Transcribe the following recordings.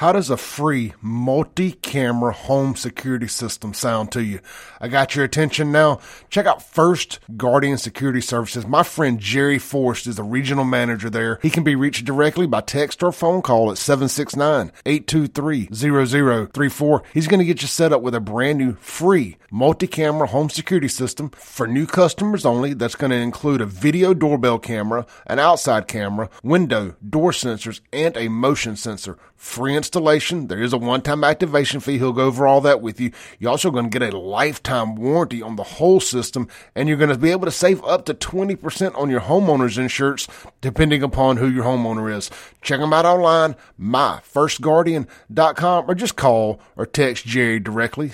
How does a free multi-camera home security system sound to you? I got your attention now. Check out First Guardian Security Services. My friend Jerry Forrest is the regional manager there. He can be reached directly by text or phone call at 769-823-0034. He's going to get you set up with a brand new free multi-camera home security system for new customers only. That's going to include a video doorbell camera, an outside camera, window, door sensors, and a motion sensor. Free installation. There is a one-time activation fee. He'll go over all that with you. You're also going to get a lifetime warranty on the whole system, and you're going to be able to save up to 20% on your homeowner's insurance, depending upon who your homeowner is. Check them out online, myfirstguardian.com, or just call or text Jerry directly,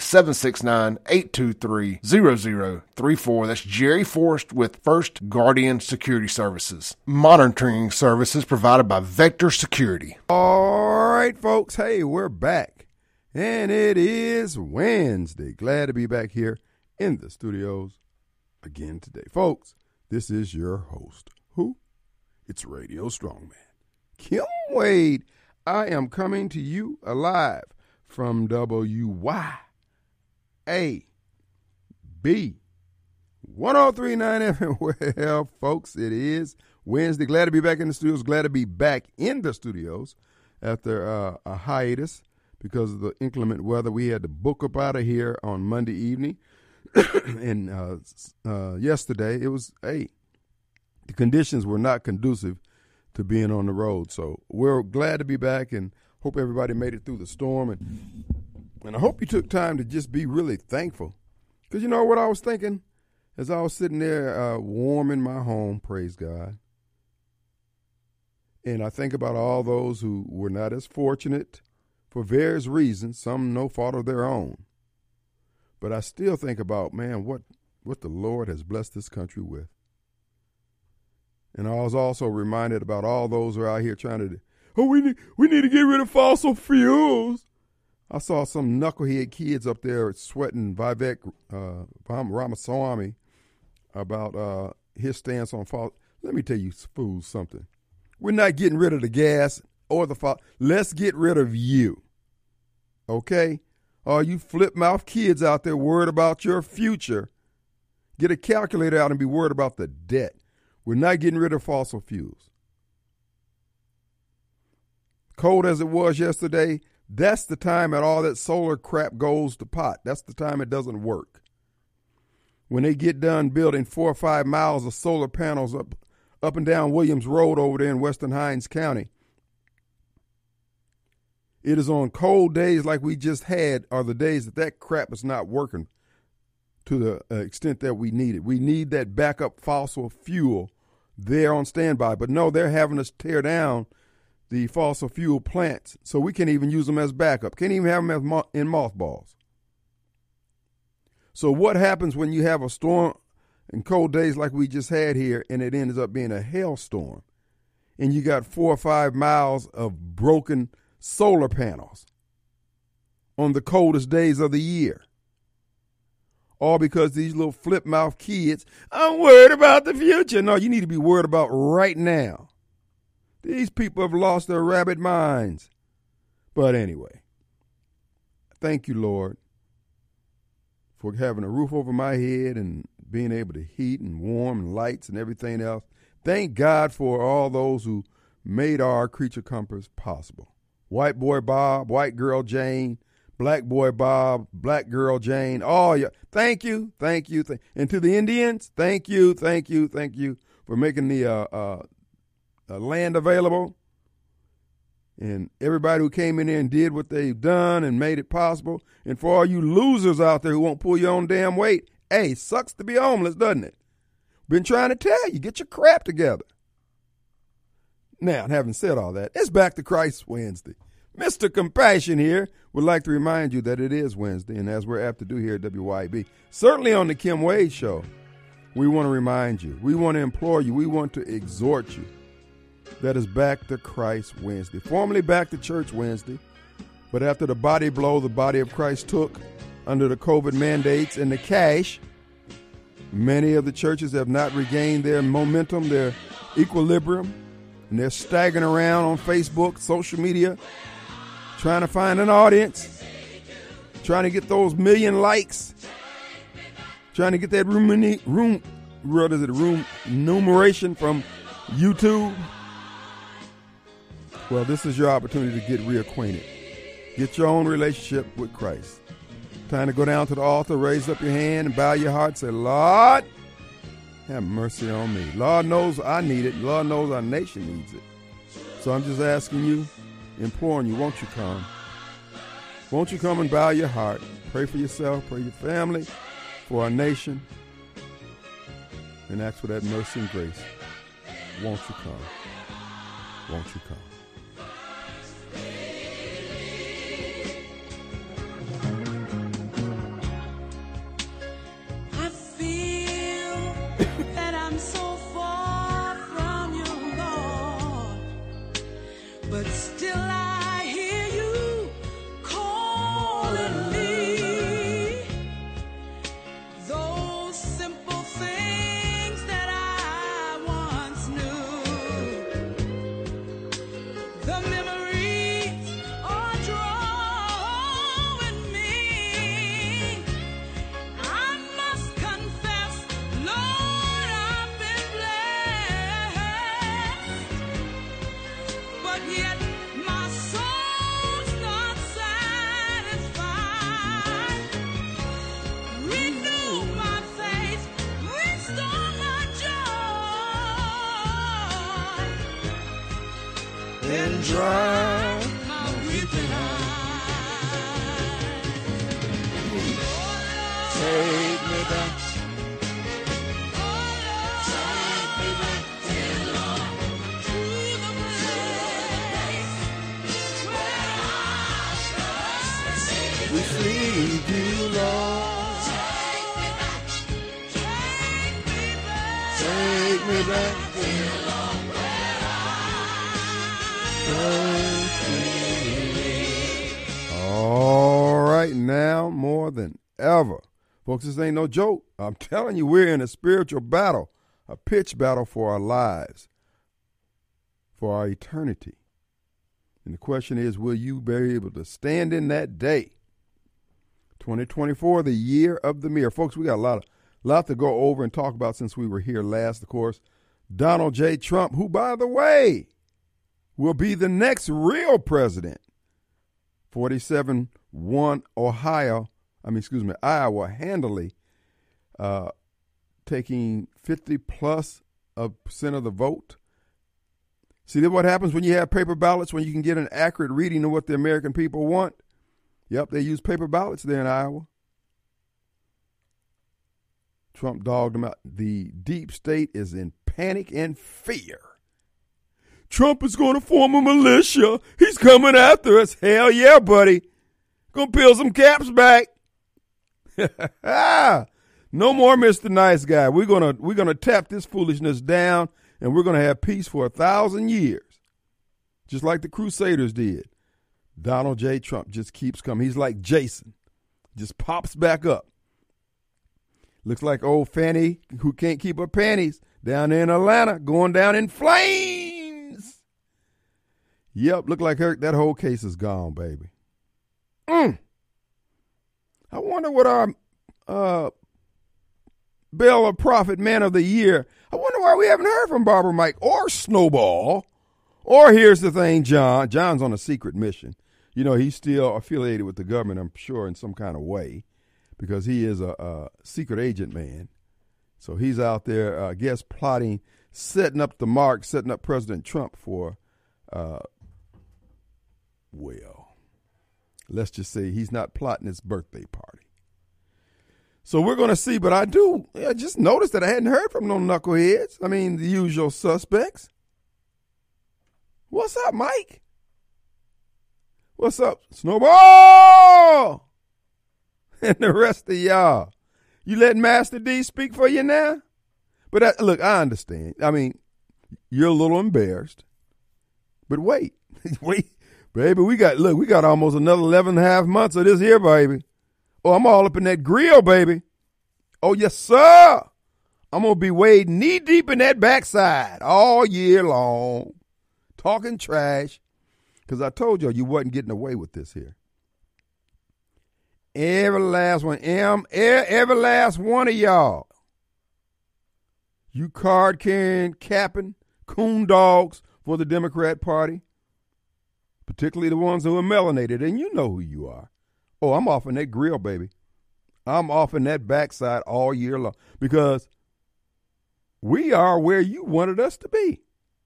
769-823-0034. That's Jerry Forrest with First Guardian Security Services. Monitoring services provided by Vector Security. All right, folks. Hey, we're back, and it is Wednesday. Glad to be back here in the studios again today. Folks, this is your host. Who? It's Radio Strongman, Kim Wade. I am coming to you alive from WYAB 103.9 FM. Well, folks, it is Wednesday. Glad to be back in the studios. Glad to be back in the studios after a hiatus because of the inclement weather. We had to book up out of here on Monday evening. And yesterday, it was, the conditions were not conducive to being on the road. So we're glad to be back and hope everybody made it through the storm. And I hope you took time to just be really thankful. Because you know what I was thinking as I was sitting there warm in my home, praise God. And I think about all those who were not as fortunate for various reasons, some no fault of their own. But I still think about, man, what the Lord has blessed this country with. And I was also reminded about all those who are out here trying to, we need to get rid of fossil fuels. I saw some knucklehead kids up there sweating Vivek Ramaswamy about his stance on fossil. Let me tell you fools something. We're not getting rid of the gas or the fossil. Let's get rid of you. Okay? All you flip-mouth kids out there worried about your future, get a calculator out and be worried about the debt. We're not getting rid of fossil fuels. Cold as it was yesterday, that's the time that all that solar crap goes to pot. That's the time it doesn't work. When they get done building 4 or 5 miles of solar panels up and down Williams Road over there in Western Hinds County, it is on cold days like we just had are the days that crap is not working to the extent that we need it. We need that backup fossil fuel there on standby. But no, they're having us tear down the fossil fuel plants so we can't even use them as backup. Can't even have them as in mothballs. So what happens when you have a storm and cold days like we just had here and it ends up being a hailstorm and you got 4 or 5 miles of broken solar panels on the coldest days of the year? All because these little flip-mouth kids, I'm worried about the future. No, you need to be worried about right now. These people have lost their rabbit minds. But anyway, thank you, Lord, for having a roof over my head and being able to heat and warm and lights and everything else. Thank God for all those who made our creature comforts possible. White boy Bob, white girl Jane, black boy Bob, black girl Jane. Oh, yeah. Thank you. And to the Indians, thank you for making the land available. And everybody who came in there and did what they've done and made it possible. And for all you losers out there who won't pull your own damn weight, hey, sucks to be homeless, doesn't it? Been trying to tell you, get your crap together. Now, having said all that, it's Back to Christ Wednesday. Mr. Compassion here would like to remind you that it is Wednesday, and as we're apt to do here at WYB, certainly on the Kim Wade Show, we want to remind you, we want to implore you, we want to exhort you that is Back to Christ Wednesday. Formerly Back to Church Wednesday, but after the body blow the body of Christ took under the COVID mandates and the cash, many of the churches have not regained their momentum, their equilibrium, and they're staggering around on Facebook, social media, trying to find an audience, trying to get those million likes, trying to get that room numeration from YouTube. Well, this is your opportunity to get reacquainted. Get your own relationship with Christ. Time to go down to the altar, raise up your hand, and bow your heart. Say, Lord, have mercy on me. Lord knows I need it. Lord knows our nation needs it. So I'm just asking you, imploring you, won't you come? Won't you come and bow your heart? Pray for yourself, pray for your family, for our nation, and ask for that mercy and grace. Won't you come? Won't you come? Dry my weeping eyes. Take me back. Take me back, dear Lord, to the place where I shall receive you, Lord. Take me back. Take me back, dear Lord. All right, now more than ever. Folks, this ain't no joke. I'm telling you, we're in a spiritual battle, a pitch battle for our lives, for our eternity. And the question is, will you be able to stand in that day? 2024, the year of the mirror. Folks, we got a lot to go over and talk about since we were here last, of course. Donald J. Trump, who, by the way, will be the next real president. 47 won Iowa handily, taking 50+% of the vote. See what happens when you have paper ballots, when you can get an accurate reading of what the American people want? Yep, they use paper ballots there in Iowa. Trump dogged them out. The deep state is in panic and fear. Trump is going to form a militia. He's coming after us. Hell yeah, buddy. Gonna peel some caps back. No more Mr. Nice Guy. We're gonna tap this foolishness down, and we're gonna have peace for 1,000 years, just like the Crusaders did. Donald J. Trump just keeps coming. He's like Jason, just pops back up. Looks like old Fanny who can't keep her panties down there in Atlanta, going down in flames. Yep, look like that whole case is gone, baby. I wonder what our Bell of Prophet Man of the Year, I wonder why we haven't heard from Barbara Mike or Snowball. Or here's the thing, John. John's on a secret mission. You know, he's still affiliated with the government, I'm sure, in some kind of way, because he is a secret agent man. So he's out there, I guess, plotting, setting up the mark, setting up President Trump for, well, let's just say he's not plotting his birthday party. So we're going to see, but I just noticed that I hadn't heard from no knuckleheads. I mean, the usual suspects. What's up, Mike? What's up, Snowball? And the rest of y'all. You letting Master D speak for you now? But look, I understand. I mean, you're a little embarrassed. But wait, baby, we got almost another 11.5 months of this here, baby. Oh, I'm all up in that grill, baby. Oh, yes, sir. I'm going to be wading knee deep in that backside all year long, talking trash. Because I told you wasn't getting away with this here. Every last one, every last one of y'all. You card carrying, capping, coon dogs for the Democrat Party, particularly the ones who are melanated, and you know who you are. Oh, I'm off in that grill, baby. I'm off in that backside all year long because we are where you wanted us to be.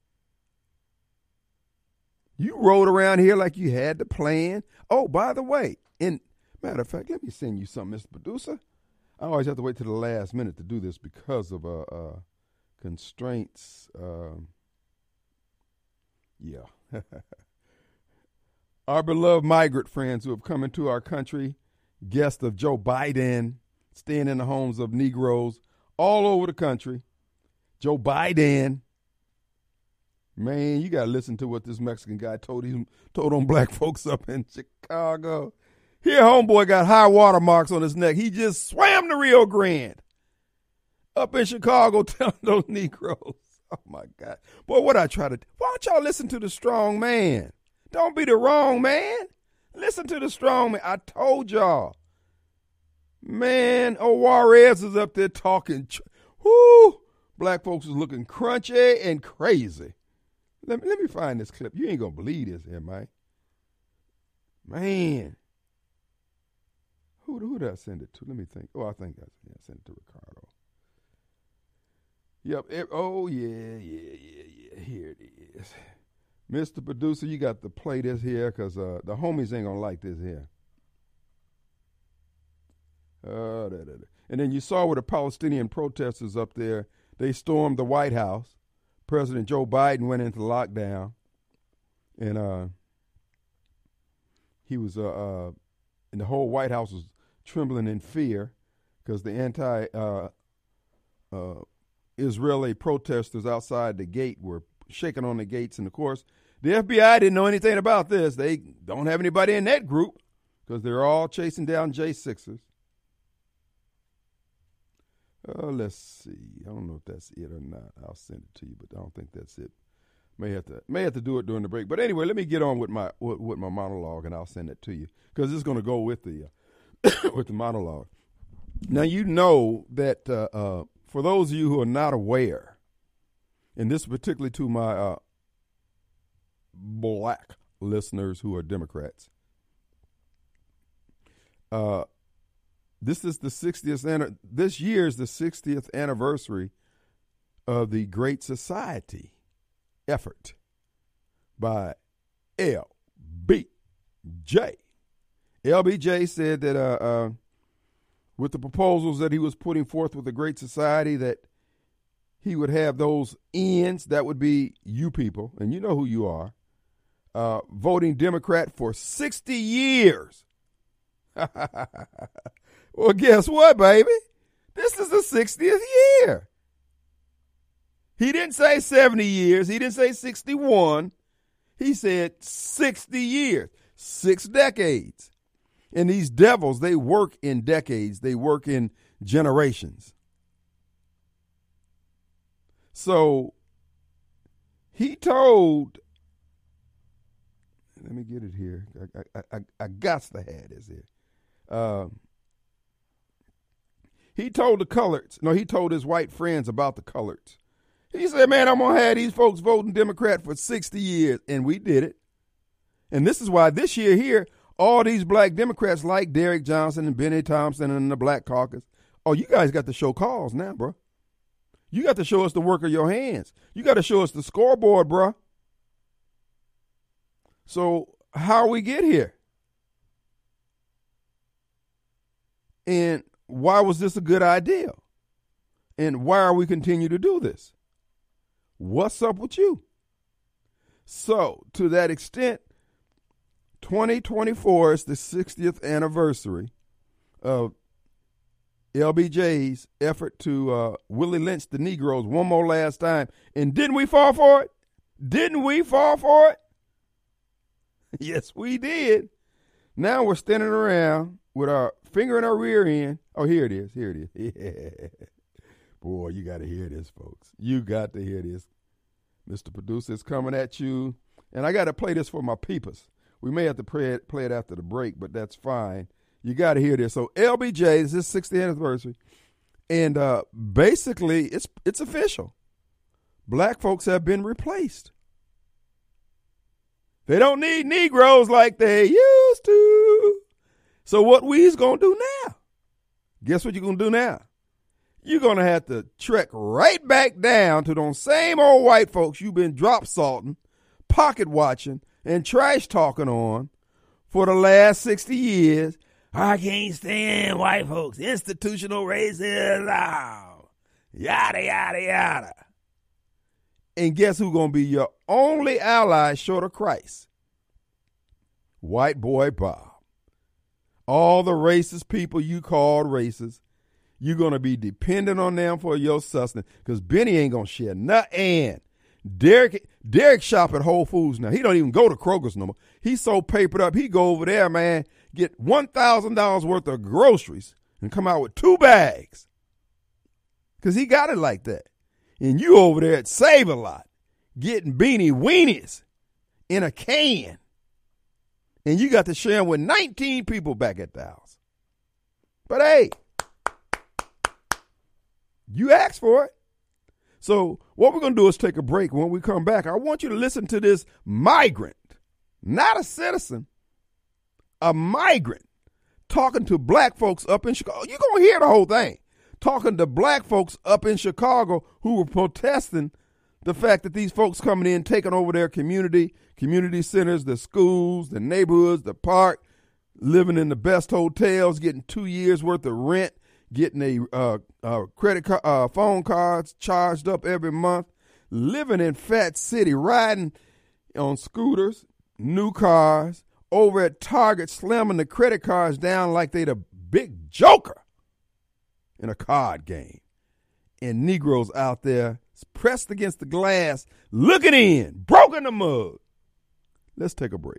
You rode around here like you had the plan. Oh, by the way, matter of fact, let me send you something, Mr. Producer. I always have to wait to the last minute to do this because of constraints. Yeah. Our beloved migrant friends who have come into our country, guests of Joe Biden, staying in the homes of Negroes all over the country. Joe Biden. Man, you got to listen to what this Mexican guy told them black folks up in Chicago. Here, homeboy got high water marks on his neck. He just swam the Rio Grande up in Chicago telling those Negroes. Oh, my God. Boy, what I try to do. Why don't y'all listen to the strong man? Don't be the wrong man. Listen to the strong man. I told y'all. Man, Juarez is up there talking. Whoo! Black folks is looking crunchy and crazy. Let me find this clip. You ain't going to believe this here, Mike. Man. Who did I send it to? Let me think. Oh, I think I sent it to Ricardo. Yep. Oh, yeah. Here it is. Mr. Producer, you got to play this here because the homies ain't going to like this here. And then you saw where the Palestinian protesters up there, they stormed the White House. President Joe Biden went into lockdown. And he was, and the whole White House was trembling in fear because the anti-Israeli protesters outside the gate were shaking on the gates. And, of course, the FBI didn't know anything about this. They don't have anybody in that group because they're all chasing down J6ers. Let's see. I don't know if that's it or not. I'll send it to you, but I don't think that's it. May have to do it during the break. But anyway, let me get on with my monologue, and I'll send it to you because it's going to go with the with the monologue. Now you know that for those of you who are not aware, and this is particularly to my black listeners who are Democrats, this is the 60th. This year is the 60th anniversary of the Great Society effort by LBJ. LBJ said that with the proposals that he was putting forth with the Great Society, that he would have those ends, that would be you people, and you know who you are, voting Democrat for 60 years. Well, guess what, baby? This is the 60th year. He didn't say 70 years. He didn't say 61. He said 60 years, 6 decades. And these devils, they work in decades. They work in generations. So he told, let me get it here. I got to have this here. He told the coloreds, he told his white friends about the coloreds. He said, man, I'm going to have these folks voting Democrat for 60 years. And we did it. And this is why this year here, all these black Democrats like Derek Johnson and Benny Thompson and the Black Caucus, oh, you guys got to show cause now, bro. You got to show us the work of your hands. You got to show us the scoreboard, bro. So how we get here? And why was this a good idea? And why are we continue to do this? What's up with you? So, to that extent, 2024 is the 60th anniversary of LBJ's effort to Willie Lynch the Negroes one more last time. And didn't we fall for it? Didn't we fall for it? Yes, we did. Now we're standing around with our finger in our rear end. Oh, here it is. Here it is. Yeah. Boy, you got to hear this, folks. You got to hear this. Mr. Producer is coming at you And I got to play this for my peepers. We may have to play it after the break, but that's fine. You got to hear this. So LBJ, this is his 60th anniversary. And basically, it's official. Black folks have been replaced. They don't need Negroes like they used to. So what we's going to do now? Guess what you're going to do now? You're going to have to trek right back down to those same old white folks you've been drop salting, pocket watching, and trash talking on for the last 60 years. I can't stand white folks. Institutional racism. Yada, yada, yada. And guess who's going to be your only ally short of Christ? White boy Bob. All the racist people you called racist, you're going to be dependent on them for your sustenance because Benny ain't going to share nothing. And Derek shop at Whole Foods now. He don't even go to Kroger's no more. He's so papered up, he go over there, man, get $1,000 worth of groceries and come out with 2 bags because he got it like that. And you over there at Save-A-Lot getting beanie weenies in a can. And you got to share them with 19 people back at the house. But hey, you asked for it. So what we're going to do is take a break. When we come back, I want you to listen to this migrant, not a citizen, a migrant, talking to black folks up in Chicago. You're going to hear the whole thing. Talking to black folks up in Chicago who were protesting the fact that these folks coming in, taking over their community centers, the schools, the neighborhoods, the park, living in the best hotels, getting 2 years worth of rent, getting a credit card, phone cards charged up every month, living in Fat City, riding on scooters, new cars, over at Target, slamming the credit cards down like they the big joker in a card game. And Negroes out there pressed against the glass, looking in, broken the mug. Let's take a break.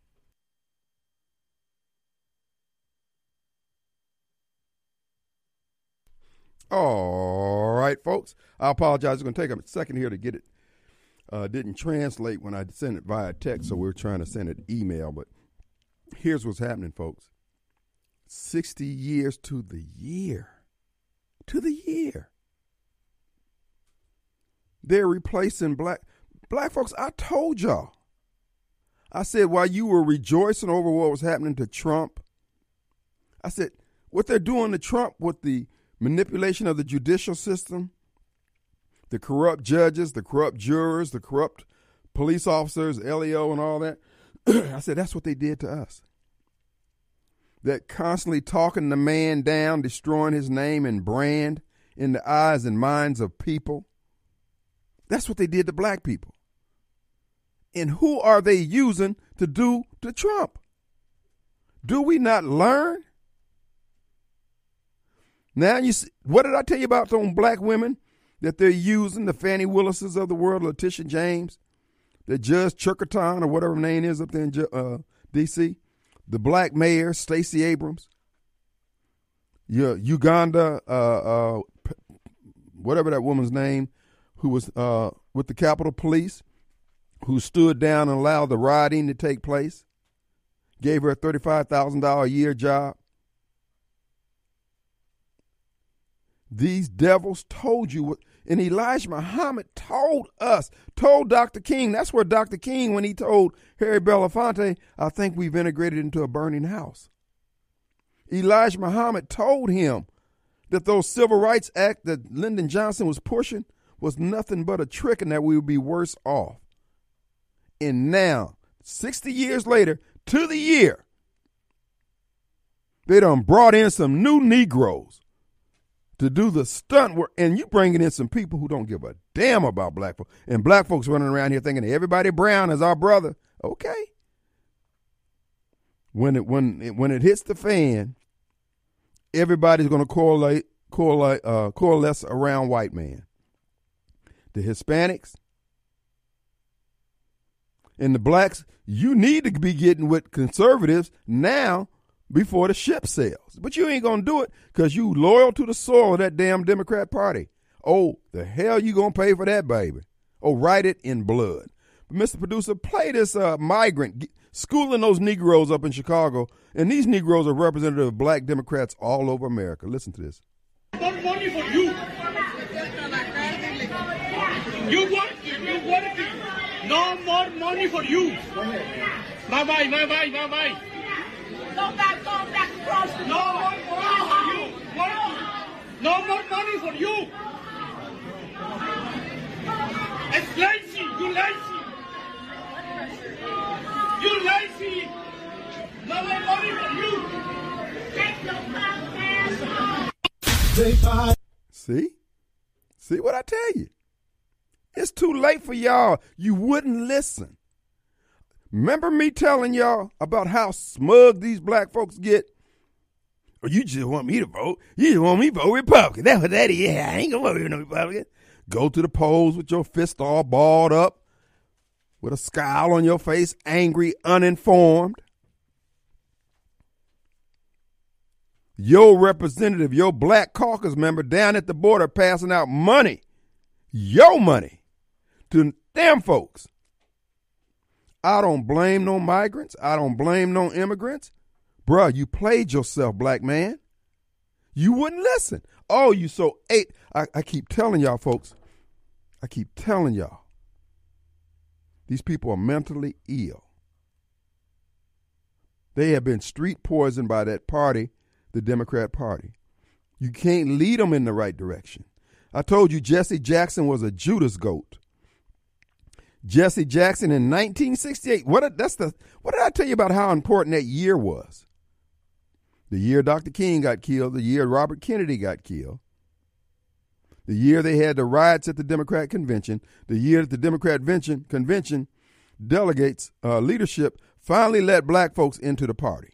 All right, folks. I apologize. It's going to take a second here to get it. Didn't translate when I sent it via text, so we're trying to send it email. But here's what's happening, folks. 60 years to the year. To the year. They're replacing black folks. I told y'all. I said while you were rejoicing over what was happening to Trump, I said what they're doing to Trump with the manipulation of the judicial system, the corrupt judges, the corrupt jurors, the corrupt police officers, LEO and all that. I said that's what they did to us. That constantly talking the man down, destroying his name and brand in the eyes and minds of people. That's what they did to black people. And who are they using to do to Trump? Do we not learn? Now you see, what did I tell you about those black women that they're using, the Fannie Willises of the world, Letitia James, the Judge Churkaton or whatever her name is up there in D.C., the black mayor, Stacey Abrams, Uganda, whatever that woman's name, who was with the Capitol Police, who stood down and allowed the rioting to take place, gave her a $35,000 a year job. These devils told you what, and Elijah Muhammad told us, told Dr. King, that's where Dr. King, when he told Harry Belafonte, I think we've integrated into a burning house. Elijah Muhammad told him that those Civil Rights Act that Lyndon Johnson was pushing was nothing but a trick and that we would be worse off. And now, 60 years later, to the year, they done brought in some new Negroes to do the stunt work. And you bringing in some people who don't give a damn about black folks. And black folks running around here thinking everybody brown is our brother. Okay. When it hits the fan, everybody's going to coalesce around white man. The Hispanics and the blacks, you need to be getting with conservatives now before the ship sails. But you ain't going to do it because you loyal to the soil of that damn Democrat Party. Oh, the hell you going to pay for that, baby? Oh, write it in blood. Mr. Producer, play this migrant schooling those Negroes up in Chicago. And these Negroes are representative of black Democrats all over America. Listen to this. More money for you. You want it. No more money for you. Bye-bye. Go back across the No more money for you. No more money for you. It's lazy. You lazy. You lazy. No more money for you. Take your podcast. See what I tell you? It's too late for y'all. You wouldn't listen. Remember me telling y'all about how smug these black folks get? Or you just want me to vote? You just want me to vote Republican. That's what that is. Yeah, I ain't gonna vote with no Republican. Go to the polls with your fist all balled up, with a scowl on your face, angry, uninformed. Your representative, your black caucus member down at the border passing out money, your money, to them folks. I don't blame no migrants. I don't blame no immigrants. Bruh, you played yourself, black man. You wouldn't listen. Oh, you so ate. I keep telling y'all, folks. I keep telling y'all. These people are mentally ill. They have been street poisoned by that party, the Democrat Party. You can't lead them in the right direction. I told you Jesse Jackson was a Judas goat. Jesse Jackson in 1968. What did I tell you about how important that year was? The year Dr. King got killed, the year Robert Kennedy got killed, the year they had the riots at the Democrat convention, the year that the Democrat convention delegates leadership finally let black folks into the party.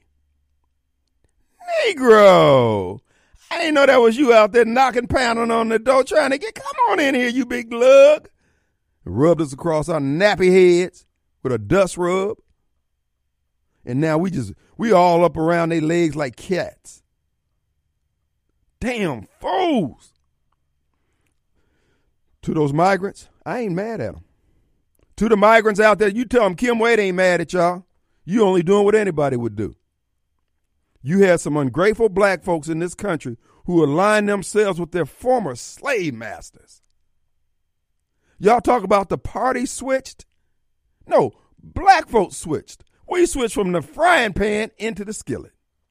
Negro! I didn't know that was you out there knocking, pounding on the door trying to come on in here, you big lug. Rubbed us across our nappy heads with a dust rub. And now we all up around their legs like cats. Damn fools. To those migrants, I ain't mad at them. To the migrants out there, you tell them Kim Wade ain't mad at y'all. You only doing what anybody would do. You had some ungrateful black folks in this country who aligned themselves with their former slave masters. Y'all talk about the party switched? No, black folks switched. We switched from the frying pan into the skillet.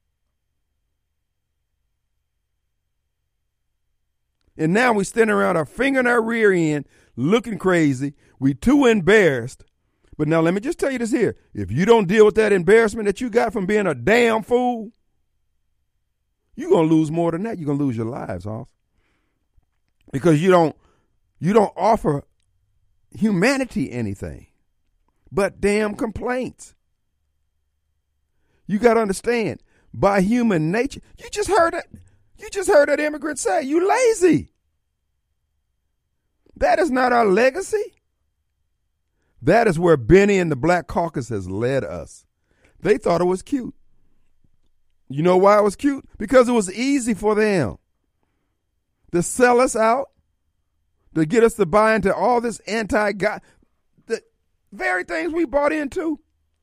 And now we standing around our finger in our rear end looking crazy. We too embarrassed. But now let me just tell you this here. If you don't deal with that embarrassment that you got from being a damn fool, you're going to lose more than that. You're going to lose your lives, Hoss. Because you don't offer humanity anything but damn complaints. You got to understand, by human nature, you just heard that immigrant say, you lazy. That is not our legacy. That is where Benny and the Black Caucus has led us. They thought it was cute. You know why it was cute? Because it was easy for them to sell us out, to get us to buy into all this anti-God, the very things we bought into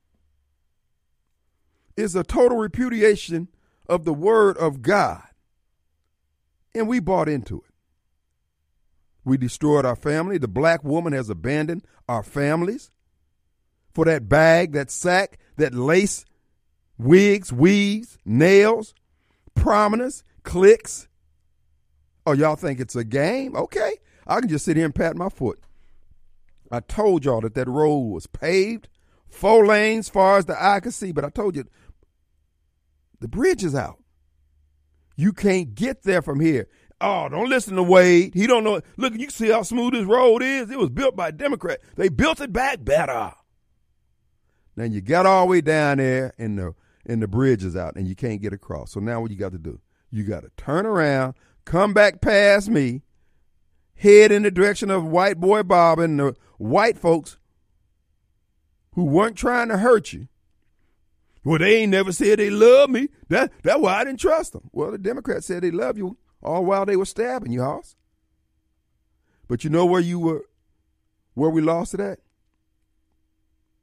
is a total repudiation of the word of God. And we bought into it. We destroyed our family. The black woman has abandoned our families for that bag, that sack, that lace, wigs, weaves, nails, prominence, clicks. Oh, y'all think it's a game? Okay. I can just sit here and pat my foot. I told y'all that road was paved, 4 lanes far as the eye could see, but I told you the bridge is out. You can't get there from here. Oh, don't listen to Wade. He don't know. Look, you can see how smooth this road is. It was built by a Democrat. They built it back better. Then you got all the way down there and the bridge is out and you can't get across. So now what you got to do? You got to turn around, come back past me, head in the direction of white boy Bob and the white folks who weren't trying to hurt you. Well, they ain't never said they love me. That's why I didn't trust them. Well, the Democrats said they love you all while they were stabbing you, Hoss. But you know where we lost it at?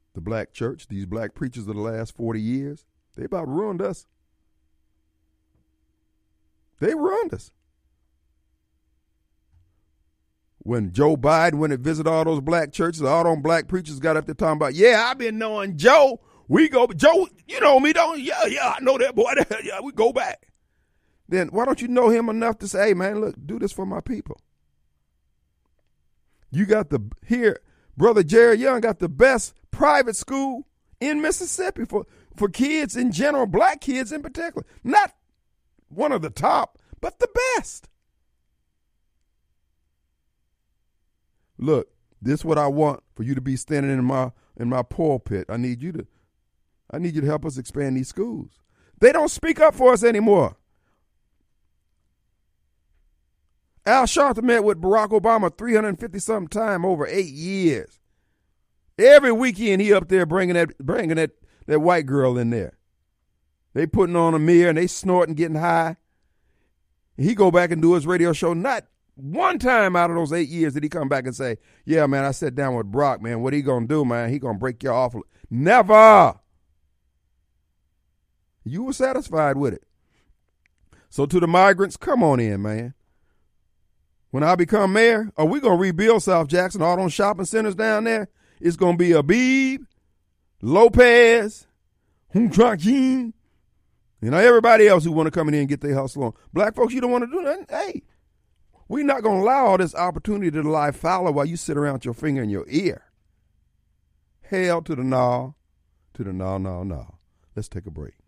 the black church, these black preachers of the last 40 years, they about ruined us. They ruined us. When Joe Biden went and visited all those black churches, all those black preachers got up there talking about, yeah, I've been knowing Joe. Joe, you know me, don't you? Yeah, I know that boy. Yeah, we go back. Then why don't you know him enough to say, hey, man, look, do this for my people? You got Brother Jerry Young got the best private school in Mississippi for kids in general, black kids in particular. Not one of the top, but the best. Look, this is what I want for you to be standing in my pulpit. I need you to help us expand these schools. They don't speak up for us anymore. Al Sharpton met with Barack Obama 350-something times over 8 years. Every weekend he up there bringing that white girl in there. They putting on a mirror and they snorting, getting high. He go back and do his radio show. Not one time out of those 8 years did he come back and say, yeah, man, I sat down with Barack, man. What he going to do, man? He going to break you off. Never. You were satisfied with it. So to the migrants, come on in, man. When I become mayor, are we going to rebuild South Jackson, all those shopping centers down there? It's going to be Abib, Lopez, Huntrakin, everybody else who want to come in here and get their hustle on. Black folks, you don't want to do nothing? Hey, we're not going to allow all this opportunity to lie fallow while you sit around with your finger in your ear. Hell to the no, no. Let's take a break.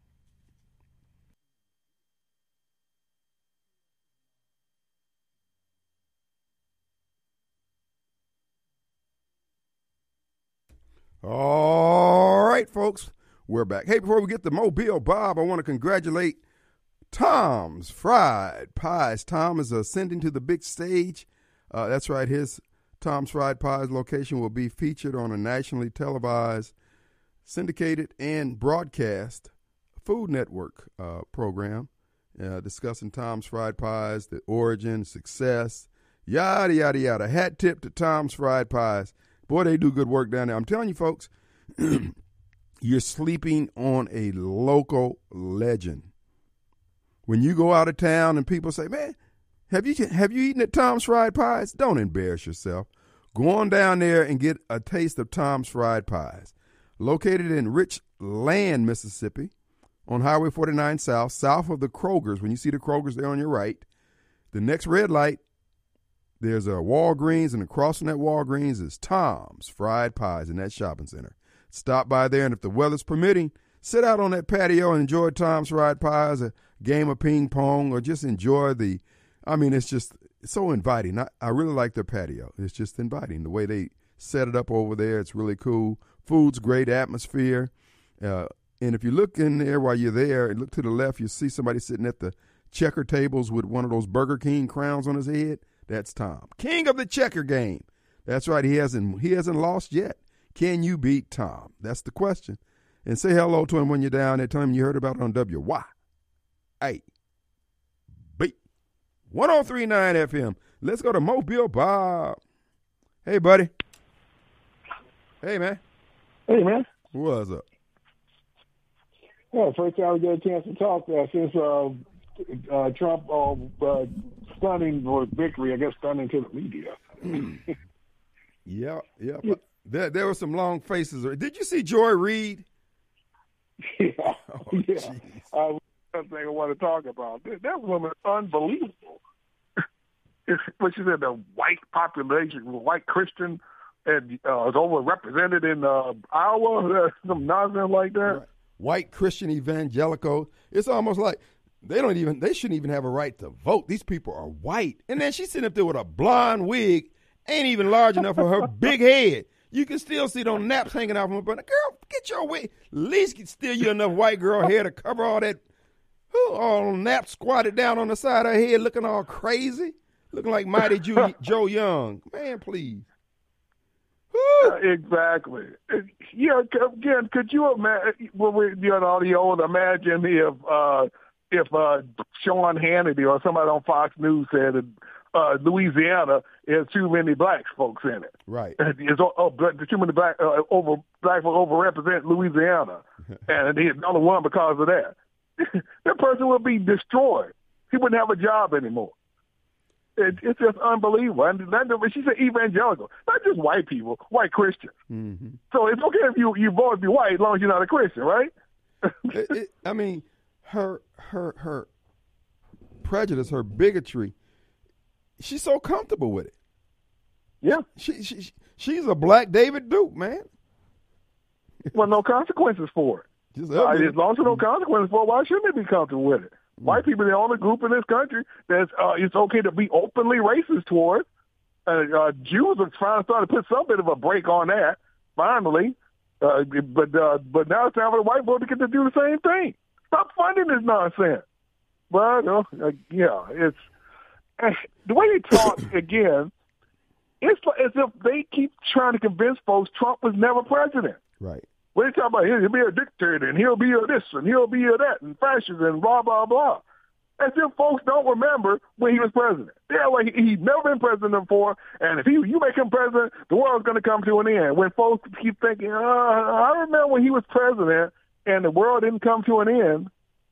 All right, folks, we're back. Hey, before we get to Mobile Bob, I want to congratulate Tom's Fried Pies. Tom is ascending to the big stage. That's right, his Tom's Fried Pies location will be featured on a nationally televised, syndicated, and broadcast Food Network program discussing Tom's Fried Pies, the origin, success, yada, yada, yada. Hat tip to Tom's Fried Pies. Boy, they do good work down there. I'm telling you, folks, you're sleeping on a local legend. When you go out of town and people say, man, have you eaten at Tom's Fried Pies? Don't embarrass yourself. Go on down there and get a taste of Tom's Fried Pies. Located in Richland, Mississippi, on Highway 49 south of the Kroger's. When you see the Kroger's there on your right, the next red light, there's a Walgreens, and across from that Walgreens is Tom's Fried Pies in that shopping center. Stop by there, and if the weather's permitting, sit out on that patio and enjoy Tom's Fried Pies, a game of ping pong, or just enjoy it's so inviting. I really like their patio. It's just inviting. The way they set it up over there, it's really cool. Food's great, atmosphere. And if you look in there while you're there and look to the left, you see somebody sitting at the checker tables with one of those Burger King crowns on his head. That's Tom, king of the checker game. That's right. He hasn't lost yet. Can you beat Tom? That's the question. And say hello to him when you're down there. Tell him you heard about it on WYAB 1039 FM. Let's go to Mobile Bob. Hey, buddy. Hey, man. Hey, man. What's up? Well, first time we get a chance to talk since Trump stunning or victory, I guess stunning to the media. Yeah. There were some long faces. Did you see Joy Reid? Yeah. Oh, yeah. One thing I want to talk about. That woman is unbelievable. What she said, the white population, white Christian, and is overrepresented in Iowa, some nonsense like that. Right. White Christian evangelical. It's almost like they shouldn't even have a right to vote. These people are white. And then she's sitting up there with a blonde wig, ain't even large enough for her big head. You can still see those naps hanging out from her. But girl, get your wig. At least get still you enough white girl hair to cover all that. All naps squatted down on the side of her head, looking all crazy, looking like Mighty Joe Young. Man, please. Exactly. Yeah. Again, could you imagine? Imagine if Sean Hannity or somebody on Fox News said that Louisiana has too many black folks in it. Right. It's too many black folk overrepresent Louisiana, and he's the only one because of that. That person would be destroyed. He wouldn't have a job anymore. It's just unbelievable. And she said evangelical, not just white people, white Christians. Mm-hmm. So it's okay if you vote if you're white as long as you're not a Christian, right? I mean, her prejudice, her bigotry, she's so comfortable with it. Yeah. She's a black David Duke, man. Well, no consequences for it. As long as there's no consequences for it, why shouldn't they be comfortable with it? White people are the only group in this country that it's okay to be openly racist towards. Jews are trying to start to put some bit of a break on that, finally. But now it's time for the white vote to get to do the same thing. Stop funding this nonsense. Well, it's the way they talk again. It's as if they keep trying to convince folks Trump was never president. Right. When they talk about he'll be a dictator and he'll be a this and he'll be a that and fascist and blah, blah, blah. As if folks don't remember when he was president. They're like, he's never been president before, and if you make him president, the world's going to come to an end. When folks keep thinking, I remember when he was president and the world didn't come to an end.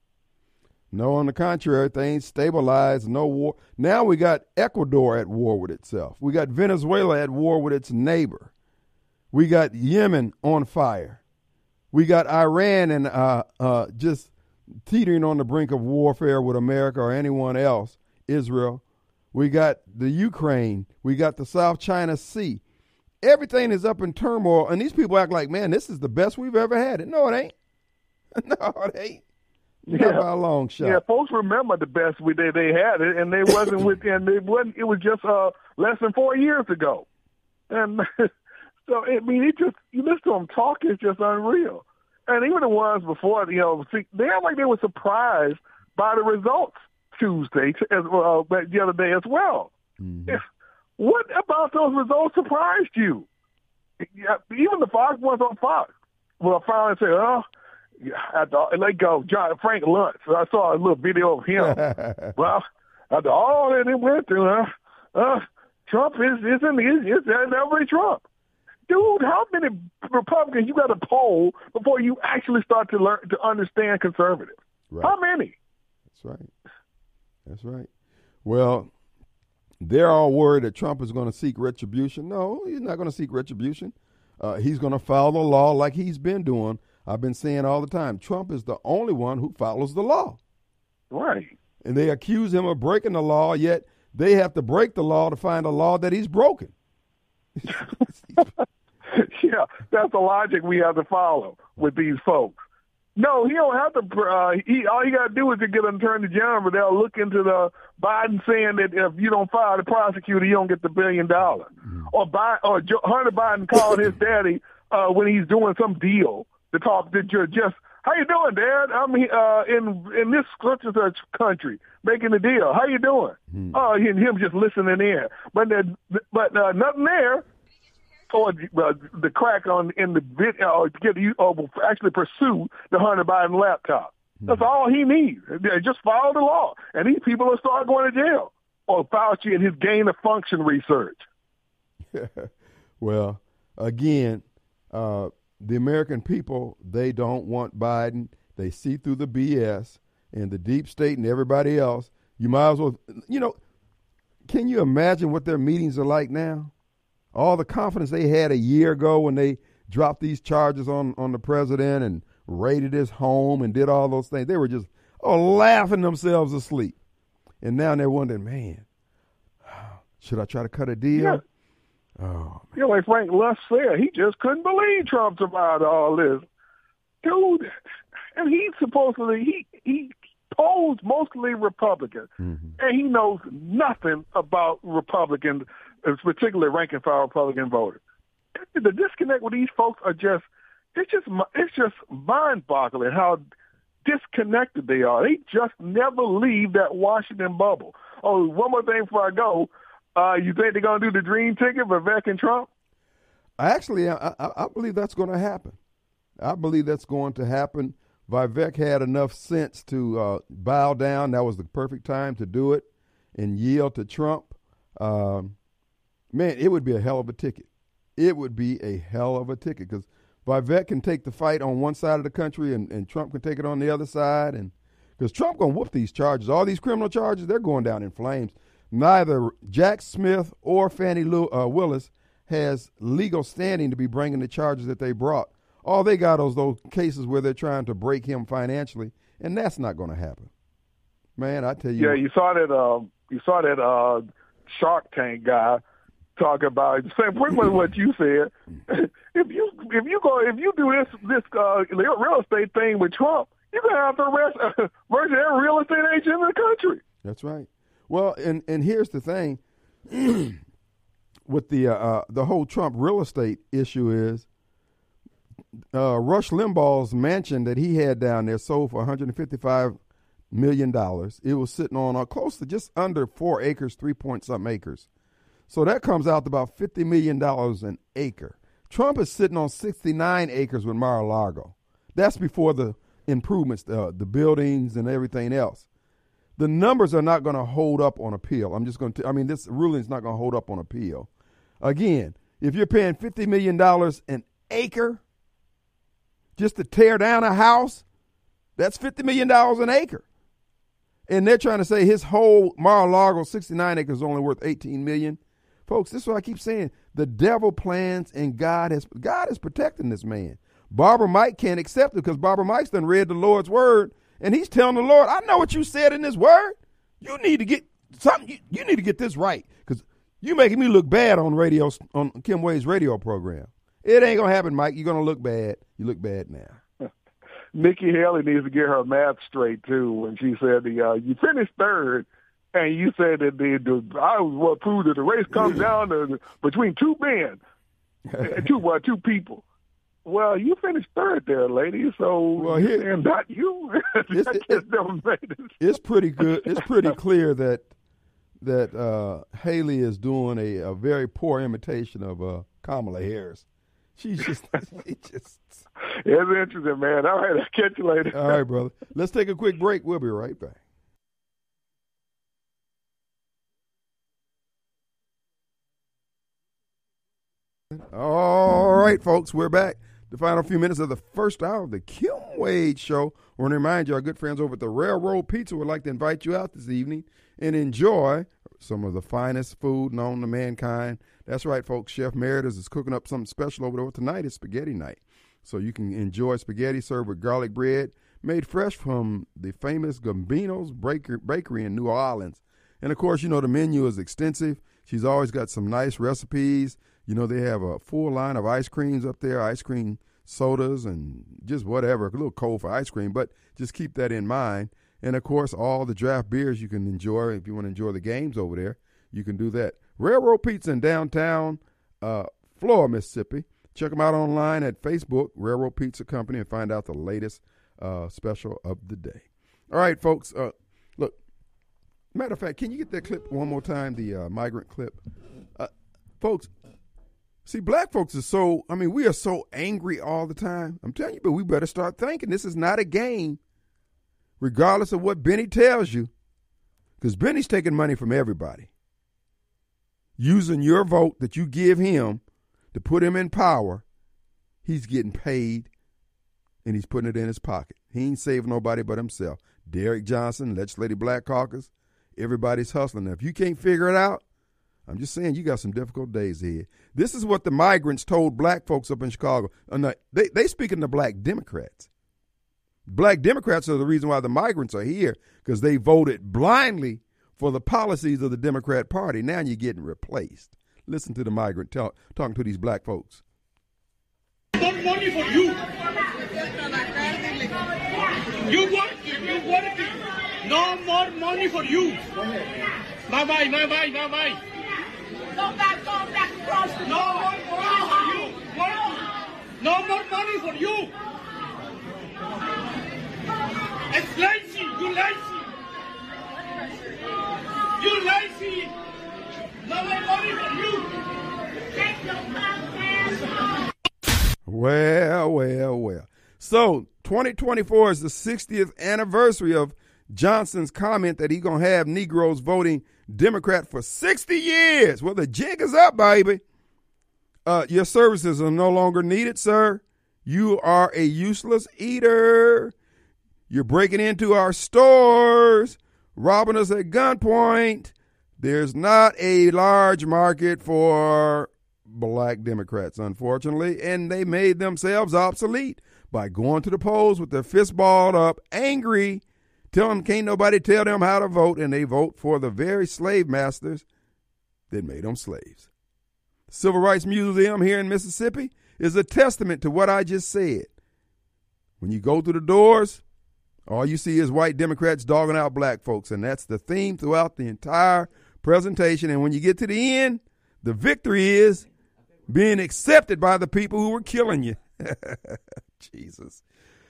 No, on the contrary, things stabilized, no war. Now we got Ecuador at war with itself. We got Venezuela at war with its neighbor. We got Yemen on fire. We got Iran and just teetering on the brink of warfare with America or anyone else, Israel. We got the Ukraine. We got the South China Sea. Everything is up in turmoil, and these people act like, man, this is the best we've ever had it. No, it ain't. No, it ain't. Not by a long shot. Yeah, folks remember the best they had it, and they wasn't within. It was just less than 4 years ago, and so I mean, you listen to them talk, it's just unreal. And even the ones before, they act like they were surprised by the results Tuesday, the other day as well. Mm-hmm. What about those results surprised you? Even the Fox ones on Fox. Well, I finally said, let go, Frank Luntz. I saw a little video of him. Well, after all that it went through, Trump is every Trump. Dude, how many Republicans you got to poll before you actually start to learn to understand conservatives? Right. How many? That's right. Well, they're all worried that Trump is going to seek retribution. No, he's not going to seek retribution. He's going to follow the law like he's been doing. I've been saying all the time, Trump is the only one who follows the law. Right. And they accuse him of breaking the law, yet they have to break the law to find a law that he's broken. Yeah, that's the logic we have to follow with these folks. No, he don't have to. All he got to do is to get an attorney general, but they'll look into the Biden saying that if you don't fire the prosecutor, you don't get the $1 billion. Mm-hmm. Or Hunter Biden called his daddy when he's doing some deal to talk to just, how you doing, Dad? I'm in this such country making a deal. How you doing? Mm-hmm. And him just listening in, but nothing there. Or the crack in the video, actually pursue the Hunter Biden laptop. That's all he needs. Just follow the law, and these people will start going to jail. Or Fauci and his gain of function research. Well, again, the American people, they don't want Biden. They see through the BS and the deep state and everybody else. You might as well, can you imagine what their meetings are like now? All the confidence they had a year ago when they dropped these charges on the president and raided his home and did all those things. They were just laughing themselves asleep. And now they're wondering, man, should I try to cut a deal? Yeah. Oh, like Frank Luntz said, he just couldn't believe Trump survived all this. Dude, and he's supposedly, he posed mostly Republican, mm-hmm. and he knows nothing about Republicans, particularly rank and file Republican voters. The disconnect with these folks it's just mind-boggling how disconnected they are. They just never leave that Washington bubble. Oh, one more thing before I go. You think they're going to do the dream ticket for Vivek and Trump? Actually, I believe that's going to happen. I believe that's going to happen. Vivek had enough sense to bow down. That was the perfect time to do it and yield to Trump. man, it would be a hell of a ticket. It would be a hell of a ticket because Vivek can take the fight on one side of the country and Trump can take it on the other side. And because Trump going to whoop these charges. All these criminal charges, they're going down in flames. Neither Jack Smith or Fannie Willis has legal standing to be bringing the charges that they brought. All they got is those cases where they're trying to break him financially, and that's not going to happen. Man, I tell you. Yeah, you saw that Shark Tank guy talk about saying pretty much what you said. if you do this real estate thing with Trump, you're gonna have to arrest virtually every real estate agent in the country. That's right. Well, and here's the thing with the whole Trump real estate issue is Rush Limbaugh's mansion that he had down there sold for $155 million. It was sitting on close to just under 4 acres, 3-point-something acres. So that comes out to about $50 million an acre. Trump is sitting on 69 acres with Mar-a-Lago. That's before the improvements, the buildings and everything else. The numbers are not going to hold up on appeal. This ruling is not going to hold up on appeal. Again, if you're paying $50 million an acre just to tear down a house, that's $50 million an acre. And they're trying to say his whole Mar-a-Lago 69 acres is only worth $18 million. Folks, this is what I keep saying. The devil plans and God is protecting this man. Barbara Mike can't accept it because Barbara Mike's done read the Lord's word, and he's telling the Lord, I know what you said in this word. You need to get something. You need to get this right because you're making me look bad on radio, on Kim Wade's radio program. It ain't going to happen, Mike. You're going to look bad. You look bad now. Nikki Haley needs to get her math straight, too, when she said you finished third, and you said that I was proved that the race comes down to between two men, two people. Well, you finished third there, lady, so and not you. It's pretty good. It's pretty clear that Haley is doing a very poor imitation of Kamala Harris. She's just it's interesting, man. All right, I'll catch you later. All right, brother. Let's take a quick break. We'll be right back. All right, folks, we're back. The final few minutes of the first hour of the Kim Wade Show. I want to remind you, our good friends over at the Railroad Pizza would like to invite you out this evening and enjoy some of the finest food known to mankind. That's right, folks. Chef Meredith is cooking up something special over there. Tonight is spaghetti night. So you can enjoy spaghetti served with garlic bread made fresh from the famous Gambino's Bakery in New Orleans. And, of course, the menu is extensive. She's always got some nice recipes. They have a full line of ice creams up there, ice cream sodas and just whatever, a little cold for ice cream, but just keep that in mind. And, of course, all the draft beers you can enjoy. If you want to enjoy the games over there, you can do that. Railroad Pizza in downtown Flora, Mississippi. Check them out online at Facebook, Railroad Pizza Company, and find out the latest special of the day. All right, folks, look, matter of fact, can you get that clip one more time, the migrant clip? Folks, see, black folks we are so angry all the time. I'm telling you, but we better start thinking this is not a game, regardless of what Benny tells you, because Benny's taking money from everybody. Using your vote that you give him to put him in power, he's getting paid, and he's putting it in his pocket. He ain't saving nobody but himself. Derek Johnson, Legislative Black Caucus, everybody's hustling. Now, if you can't figure it out, I'm just saying you got some difficult days ahead. This is what the migrants told black folks up in Chicago. They speaking to black Democrats. Black Democrats are the reason why the migrants are here, because they voted blindly for the policies of the Democrat Party. Now you're getting replaced. Listen to the migrant talking to these black folks. No money for you. You work. No more money for you. Bye. Go back across the No more money for you. No more money for you. It's lazy. You lazy. You lazy. No more money for you. Take your podcast. Well. So 2024 is the 60th anniversary of Johnson's comment that he's going to have Negroes voting Democrat for 60 years. Well, the jig is up, baby. Your services are no longer needed, sir. You are a useless eater. You're breaking into our stores, robbing us at gunpoint. There's not a large market for black Democrats, unfortunately, and they made themselves obsolete by going to the polls with their fist balled up, angry, telling them can't nobody tell them how to vote, and they vote for the very slave masters that made them slaves. The Civil Rights Museum here in Mississippi is a testament to what I just said. When you go through the doors, all you see is white Democrats dogging out black folks, and that's the theme throughout the entire presentation. And when you get to the end, the victory is being accepted by the people who were killing you. Jesus.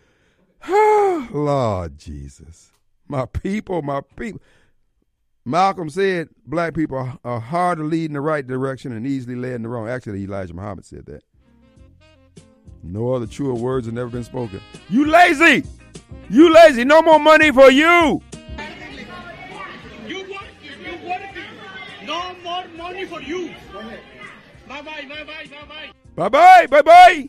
Lord Jesus. My people, my people. Malcolm said black people are hard to lead in the right direction and easily led in the wrong. Actually, Elijah Muhammad said that. No other truer words have never been spoken. You lazy! You lazy! No more money for you! You work, no more money for you. Bye-bye, bye-bye, bye-bye. Bye-bye, bye-bye!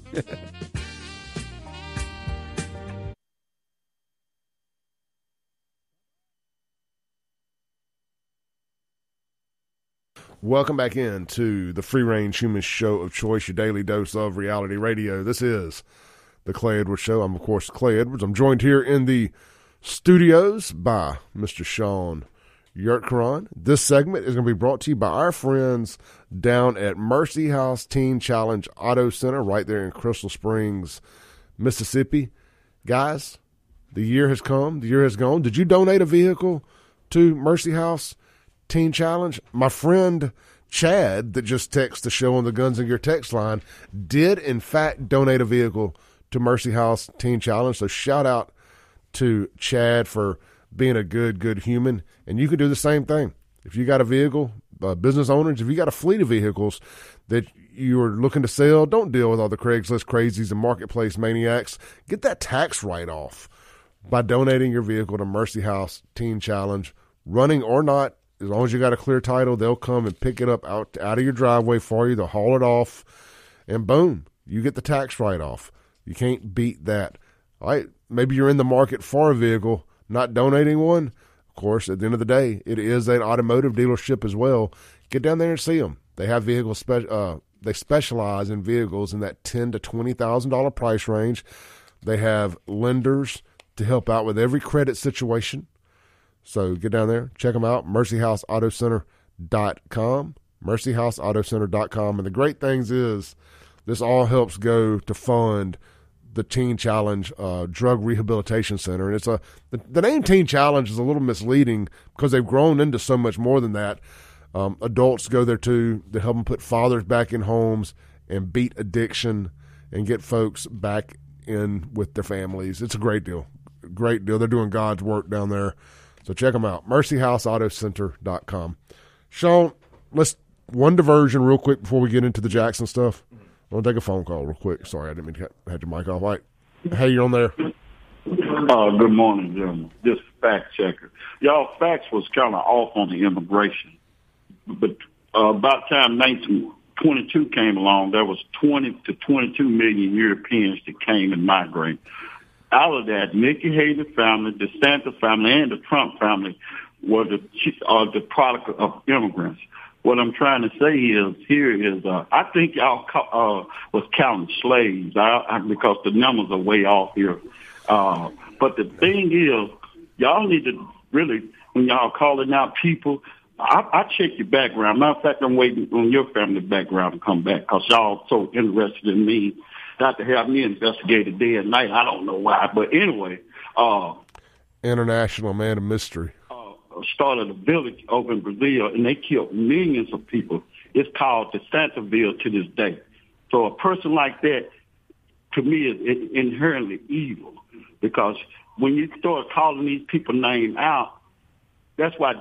Welcome back into the Free Range Human Show of Choice, your daily dose of reality radio. This is the Clay Edwards Show. I'm, of course, Clay Edwards. I'm joined here in the studios by Mr. Sean Yurtkaran. This segment is going to be brought to you by our friends down at Mercy House Teen Challenge Auto Center right there in Crystal Springs, Mississippi. Guys, the year has come. The year has gone. Did you donate a vehicle to Mercy House Teen Challenge? My friend Chad, that just texted the show on the Guns and Gear text line, did in fact donate a vehicle to Mercy House Teen Challenge. So shout out to Chad for being a good human. And you can do the same thing. If you got a vehicle, business owners, if you got a fleet of vehicles that you're looking to sell, don't deal with all the Craigslist crazies and marketplace maniacs. Get that tax write-off by donating your vehicle to Mercy House Teen Challenge, running or not. As long as you got a clear title, they'll come and pick it up out of your driveway for you. They'll haul it off, and boom, you get the tax write-off. You can't beat that. All right, maybe you're in the market for a vehicle, not donating one. Of course, at the end of the day, it is an automotive dealership as well. Get down there and see them. They have vehicles. They specialize in vehicles in that $10,000 to $20,000 price range. They have lenders to help out with every credit situation. So get down there, check them out, mercyhouseautocenter.com, mercyhouseautocenter.com. And the great things is this all helps go to fund the Teen Challenge Drug Rehabilitation Center. And it's the name Teen Challenge is a little misleading because they've grown into so much more than that. Adults go there too to help them put fathers back in homes and beat addiction and get folks back in with their families. It's a great deal. Great deal. They're doing God's work down there. So check them out, mercyhouseautocenter.com. Sean, let's one diversion real quick before we get into the Jackson stuff. I want to take a phone call real quick. Sorry, I didn't mean to have your mic off. All right. Hey, you're on there. Good morning, gentlemen. This fact checker. Y'all facts was kind of off on the immigration. But about time 1922 came along, there was 20 to 22 million Europeans that came and migrated. Out of that, Nikki Haley family, the Santa family, and the Trump family were the product of immigrants. What I'm trying to say is, I think y'all was counting slaves because the numbers are way off here. But the thing is, y'all need to really, when y'all calling out people, I check your background. Matter of fact, I'm waiting on your family background to come back because y'all so interested in me. Not to have me investigated day and night. I don't know why. But anyway. International man of mystery. Started a village over in Brazil, and they killed millions of people. It's called the Santaville to this day. So a person like that, to me, is inherently evil. Because when you start calling these people names out, that's why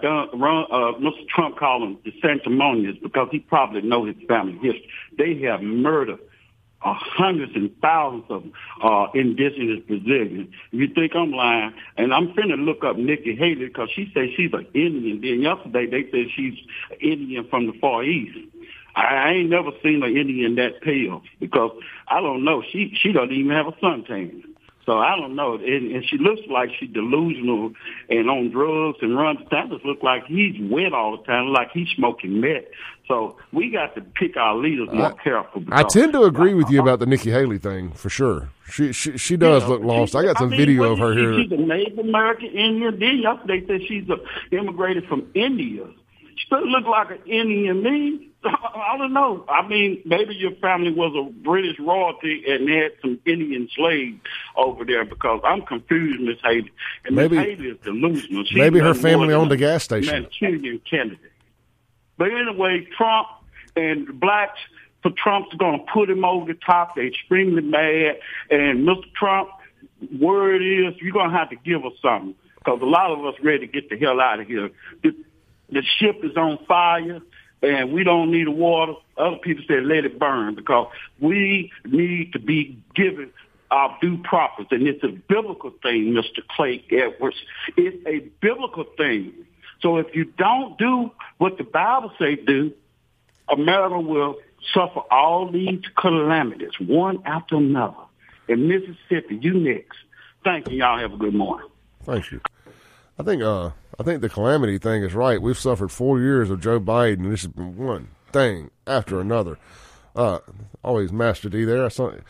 Mr. Trump called them the sanctimonious, because he probably knows his family history. They have murdered hundreds and thousands of indigenous Brazilians. If you think I'm lying, and I'm finna look up Nikki Haley because she says she's an Indian. Then yesterday they said she's Indian from the Far East. I ain't never seen an Indian that pale because I don't know. She doesn't even have a suntan. So I don't know. And she looks like she's delusional and on drugs and runs. That just look like he's wet all the time, like he's smoking meth. So we got to pick our leaders more careful. I tend to agree with you about the Nikki Haley thing for sure. She does look lost. I got some video of her here. She's a Native American Indian. Then yesterday said she's immigrated from India. She doesn't look like an Indian to me. I don't know. I mean, maybe your family was a British royalty and had some Indian slaves over there because I'm confused, Miss Haley. And Miss Haley is delusional. Maybe her family owned a gas station. Manchurian candidate. But anyway, Trump and blacks for Trump's going to put him over the top. They're extremely mad. And Mr. Trump, word is you're going to have to give us something because a lot of us ready to get the hell out of here. The ship is on fire. And we don't need the water. Other people say let it burn because we need to be given our due process. And it's a biblical thing, Mr. Clay Edwards. It's a biblical thing. So if you don't do what the Bible says do, America will suffer all these calamities, one after another. In Mississippi, you next. Thank you. Y'all have a good morning. Thank you. I think the calamity thing is right. We've suffered 4 years of Joe Biden, and this has been one thing after another. Always Master D there.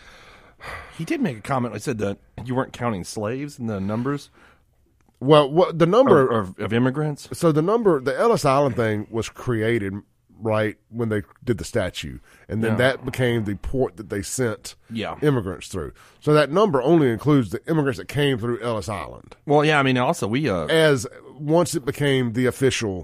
He did make a comment. I said that you weren't counting slaves in the numbers. Well, the number of immigrants. So the Ellis Island thing was created right when they did the statue, and then that became the port that they sent immigrants through. So that number only includes the immigrants that came through Ellis Island. Well, yeah, I mean, also we as once it became the official,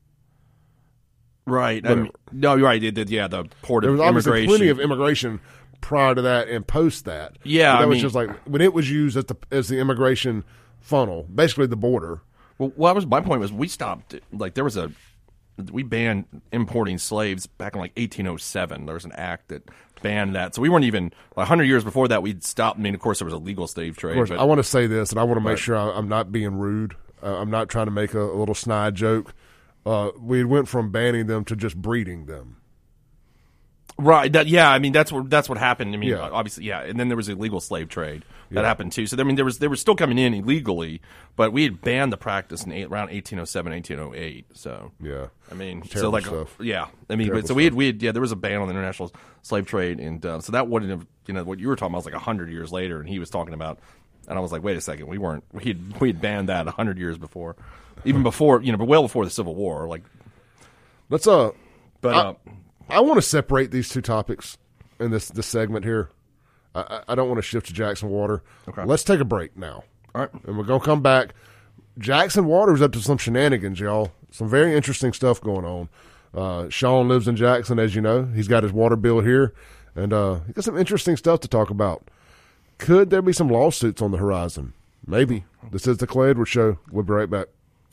right? I mean, no, you're right. The port there of was obviously immigration. plenty of immigration prior to that and post that. Yeah, that was just like when it was used as the immigration funnel, basically the border. Well, my point was we stopped. Like we banned importing slaves back in like 1807. There was an act that banned that. So we weren't even 100 years before that. We'd stopped. I mean, of course, there was a legal slave trade. Of course, I want to say this, and I want to make sure I'm not being rude. I'm not trying to make a little snide joke. We went from banning them to just breeding them. Right. I mean, that's what happened. I mean, obviously, and then there was illegal slave trade that happened too. So I mean, they were still coming in illegally, but we had banned the practice in around 1807, 1808. So I mean, terrible stuff. I mean, so we had there was a ban on the international slave trade, and so that wouldn't have what you were talking about was like 100 years later, and he was talking about, and I was like, wait a second, we had banned that 100 years before, even before but well before the Civil War. Like, let's I want to separate these two topics in this segment here. I don't want to shift to Jackson Water. Okay. Let's take a break now. All right. And we're going to come back. Jackson Water's up to some shenanigans, y'all. Some very interesting stuff going on. Sean lives in Jackson, as you know. He's got his water bill here. And he got some interesting stuff to talk about. Could there be some lawsuits on the horizon? Maybe. This is the Clay Edwards Show. We'll be right back.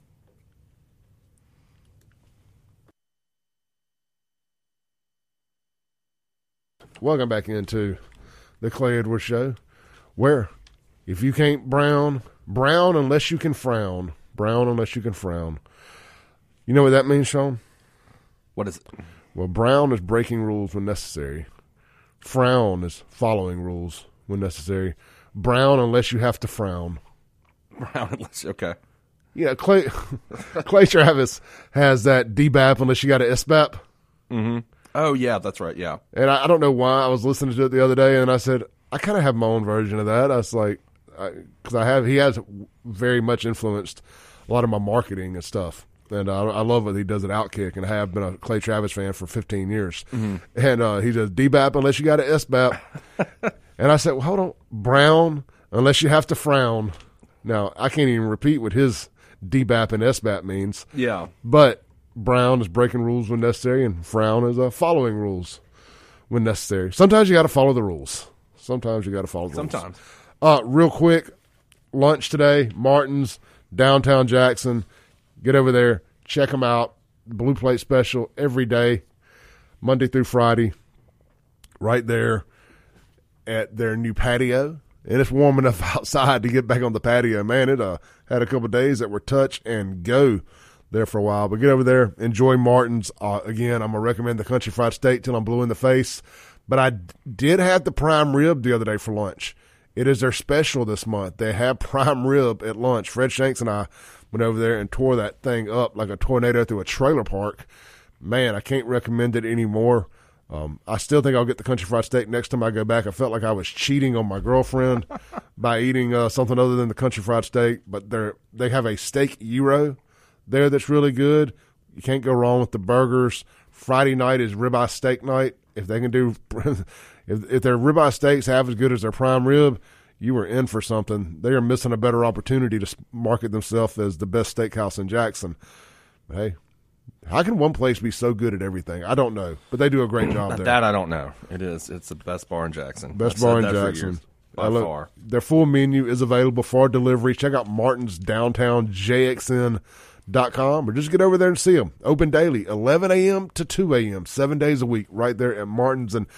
Welcome back into the Clay Edwards Show, where if you can't brown unless you can frown. Brown unless you can frown. You know what that means, Sean? What is it? Well, brown is breaking rules when necessary. Frown is following rules when necessary. Brown unless you have to frown. Brown unless, okay. Yeah, Clay Travis has that DBAP unless you got an SBAP. Mm-hmm. Oh, yeah, that's right, yeah. And I don't know why I was listening to it the other day, and I said, I kind of have my own version of that. I was like, because he has very much influenced a lot of my marketing and stuff. And I love what he does at Outkick, and I have been a Clay Travis fan for 15 years. Mm-hmm. And he does DBAP unless you got an SBAP. And I said, well, hold on, brown unless you have to frown. Now, I can't even repeat what his DBAP and SBAP means. Yeah. But brown is breaking rules when necessary, and frown is following rules when necessary. Sometimes you got to follow the rules. Sometimes you got to follow the rules. Real quick, lunch today, Martin's, downtown Jackson. Get over there, check them out. Blue Plate special every day, Monday through Friday, right there. at their new patio, and it's warm enough outside to get back on the patio. Man, it had a couple of days that were touch and go there for a while. But get over there, enjoy Martin's. Again, I'm going to recommend the Country Fried Steak till I'm blue in the face. But I did have the prime rib the other day for lunch. It is their special this month. They have prime rib at lunch. Fred Shanks and I went over there and tore that thing up like a tornado through a trailer park. Man, I can't recommend it anymore. I still think I'll get the Country Fried Steak next time I go back. I felt like I was cheating on my girlfriend by eating something other than the Country Fried Steak. But they have a steak gyro there that's really good. You can't go wrong with the burgers. Friday night is ribeye steak night. If they can do, if their ribeye steaks have as good as their prime rib, you are in for something. They are missing a better opportunity to market themselves as the best steakhouse in Jackson. But hey, how can one place be so good at everything? I don't know, but they do a great job there. That I don't know. It is. It's the best bar in Jackson. Best bar in Jackson. By far. Their full menu is available for delivery. Check out Martin's downtown JXN.com or just get over there and see them. Open daily, 11 a.m. to 2 a.m., 7 days a week, right there at Martin's. And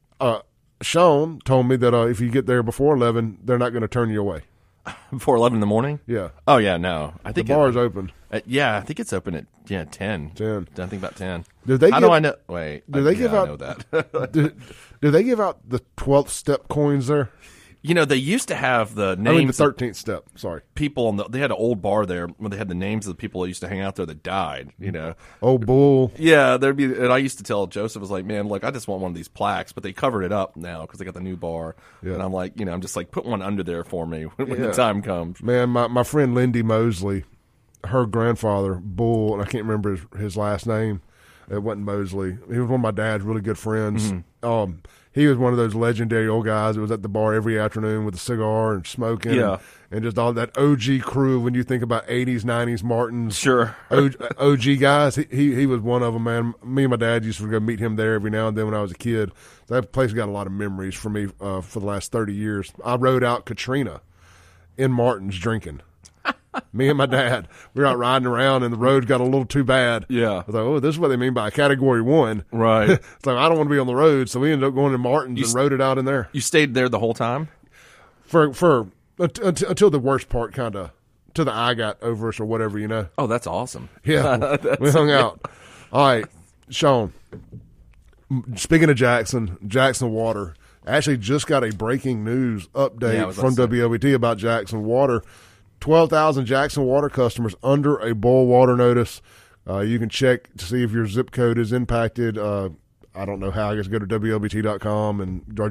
Sean told me that if you get there before 11, they're not going to turn you away. Before 11 in the morning? Yeah. Oh, yeah, no. I think the bar is open. Yeah, I think it's open at 10. 10. I think about 10. How do I know? Wait. Do they give out? I know that. do they give out the 12th step coins there? You know, they used to have the names. the 13th step. Sorry. People they had an old bar there where they had the names of the people that used to hang out there that died. You know. Oh, Bull. Yeah, there'd be. And I used to tell Joseph, I was like, man, look, I just want one of these plaques, but they covered it up now because they got the new bar. Yeah. And I'm like, I'm just like, put one under there for me when the time comes. Man, my friend Lindy Mosley, her grandfather, Bull, and I can't remember his last name. It wasn't Mosley. He was one of my dad's really good friends. Mm-hmm. He was one of those legendary old guys that was at the bar every afternoon with a cigar and smoking. And just all that OG crew when you think about 80s, 90s Martins. Sure. OG guys. He was one of them, man. Me and my dad used to go meet him there every now and then when I was a kid. So that place got a lot of memories for me for the last 30 years. I rode out Katrina in Martin's drinking. Me and my dad, we were out riding around, and the road got a little too bad. Yeah. I was like, oh, this is what they mean by a Category 1. Right. It's like, I don't want to be on the road, so we ended up going to Martin's and rode it out in there. You stayed there the whole time? Until the worst part kind of, till the eye got over us or whatever, Oh, that's awesome. Yeah. We hung out. All right, Sean, speaking of Jackson Water, actually just got a breaking news update from WLBT about Jackson Water. 12,000 Jackson Water customers under a boil water notice. You can check to see if your zip code is impacted. I don't know how. I guess go to WLBT.com or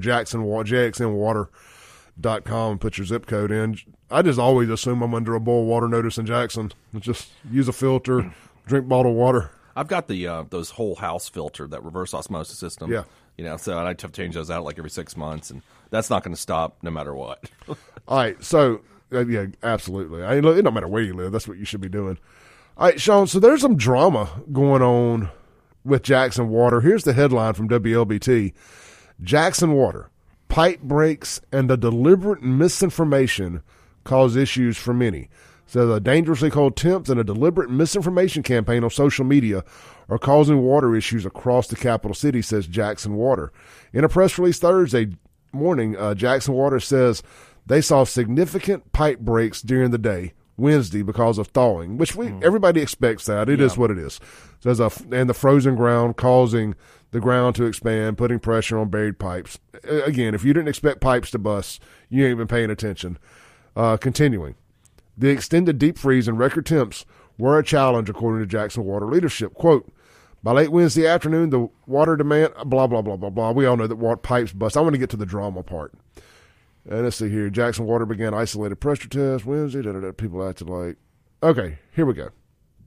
JXNwater.com and put your zip code in. I just always assume I'm under a boil water notice in Jackson. Just use a filter, drink bottled water. I've got the those whole house filter, that reverse osmosis system. Yeah. So I have to change those out like every 6 months, and that's not going to stop no matter what. All right, so... yeah, absolutely. It don't matter where you live. That's what you should be doing. All right, Sean, so there's some drama going on with Jackson Water. Here's the headline from WLBT. Jackson Water, pipe breaks and the deliberate misinformation cause issues for many. So the dangerously cold temps and a deliberate misinformation campaign on social media are causing water issues across the capital city, says Jackson Water. In a press release Thursday morning, Jackson Water says they saw significant pipe breaks during the day, Wednesday, because of thawing, which everybody expects that. It is what it is. So and the frozen ground causing the ground to expand, putting pressure on buried pipes. Again, if you didn't expect pipes to bust, you ain't been paying attention. Continuing. The extended deep freeze and record temps were a challenge, according to Jackson Water leadership. Quote, by late Wednesday afternoon, the water demand, blah, blah, blah, blah, blah. We all know that water pipes bust. I want to get to the drama part. And let's see here. Jackson Water began isolated pressure tests Wednesday. People acted like, okay, here we go.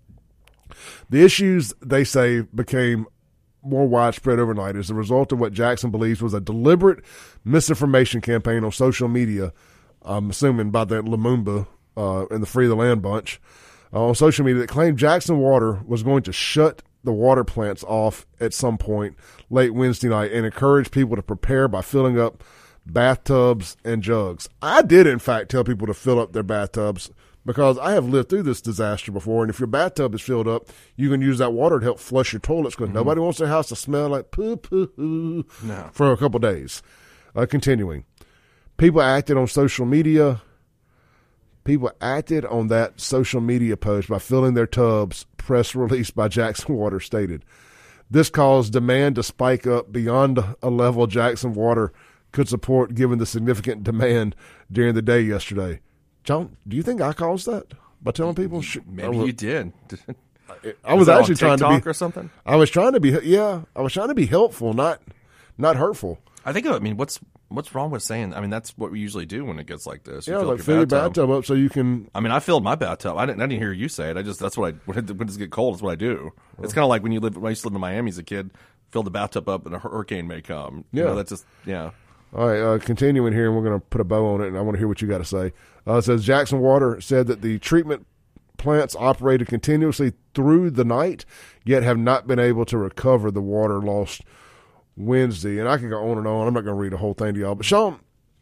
The issues, they say, became more widespread overnight as a result of what Jackson believes was a deliberate misinformation campaign on social media, I'm assuming by the Lumumba and the Free the Land bunch, on social media that claimed Jackson Water was going to shut the water plants off at some point late Wednesday night and encourage people to prepare by filling up bathtubs and jugs. I did, in fact, tell people to fill up their bathtubs because I have lived through this disaster before, and if your bathtub is filled up, you can use that water to help flush your toilets because nobody wants their house to smell like poo-poo for a couple days. Continuing. People acted on social media. People acted on that social media post by filling their tubs, press release by Jackson Water stated. This caused demand to spike up beyond a level Jackson Water could support given the significant demand during the day yesterday. John, do you think I caused that by telling people? Maybe you did. I was actually trying to be or something. I was trying to be helpful, not hurtful. I think. What's wrong with saying? I mean, that's what we usually do when it gets like this. You fill your bathtub up so you can. I mean, I filled my bathtub. I didn't hear you say it. That's what when it get cold. That's what I do. It's kind of like when I used to live in Miami as a kid. Filled the bathtub up and a hurricane may come. Yeah, that's just All right, continuing here, and we're going to put a bow on it, and I want to hear what you got to say. It says Jackson Water said that the treatment plants operated continuously through the night, yet have not been able to recover the water lost Wednesday. And I can go on and on. I'm not going to read the whole thing to y'all. But, Sean,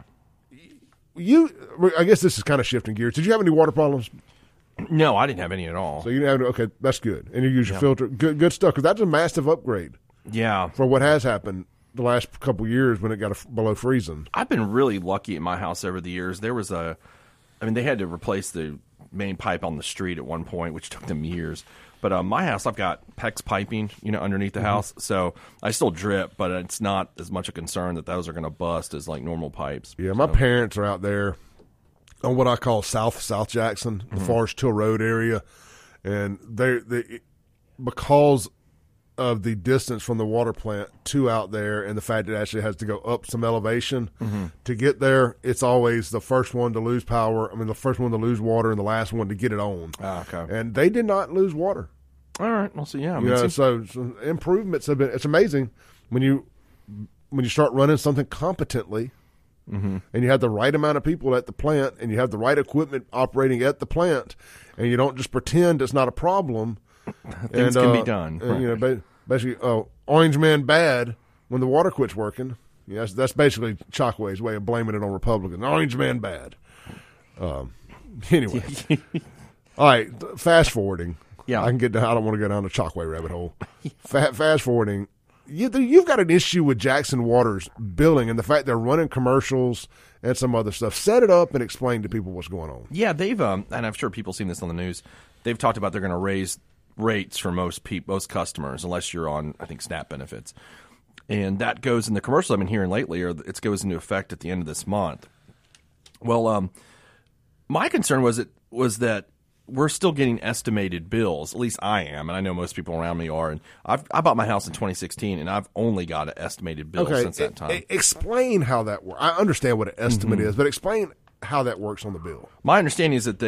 I guess this is kind of shifting gears. Did you have any water problems? No, I didn't have any at all. So you didn't have okay, that's good. And you use your filter. Good stuff, because that's a massive upgrade. Yeah. For what has happened the last couple of years when it got below freezing. I've been really lucky at my house over the years. There was they had to replace the main pipe on the street at one point, which took them years. But my house, I've got PEX piping, underneath the house. So I still drip, but it's not as much a concern that those are going to bust as like normal pipes. Yeah, my parents are out there on what I call South Jackson, the Forest Hill Road area. And they because of the distance from the water plant to out there and the fact that it actually has to go up some elevation to get there, it's always the first one to lose power. I mean, the first one to lose water and the last one to get it on. Okay. And they did not lose water. All right. Well, so yeah. So improvements have been. It's amazing when you start running something competently, and you have the right amount of people at the plant, and you have the right equipment operating at the plant, and you don't just pretend it's not a problem. Things can be done. And, basically, Orange Man bad when the water quits working. Yeah, that's basically Chockway's way of blaming it on Republicans. Orange Man bad. Anyway, all right. Fast forwarding. Yeah, I don't want to go down the Chockway rabbit hole. Fast forwarding. You've got an issue with Jackson Water's billing and the fact they're running commercials and some other stuff. Set it up and explain to people what's going on. Yeah, they've and I'm sure people have seen this on the news. They've talked about they're going to raise rates for most customers, unless you're on, I think, SNAP benefits. And that goes in the commercial I've been hearing lately, or it goes into effect at the end of this month. Well, my concern was that we're still getting estimated bills. At least I am, and I know most people around me are. And I bought my house in 2016, and I've only got an estimated bill since that time. Explain how that works. I understand what an estimate is, but explain how that works on the bill. My understanding is that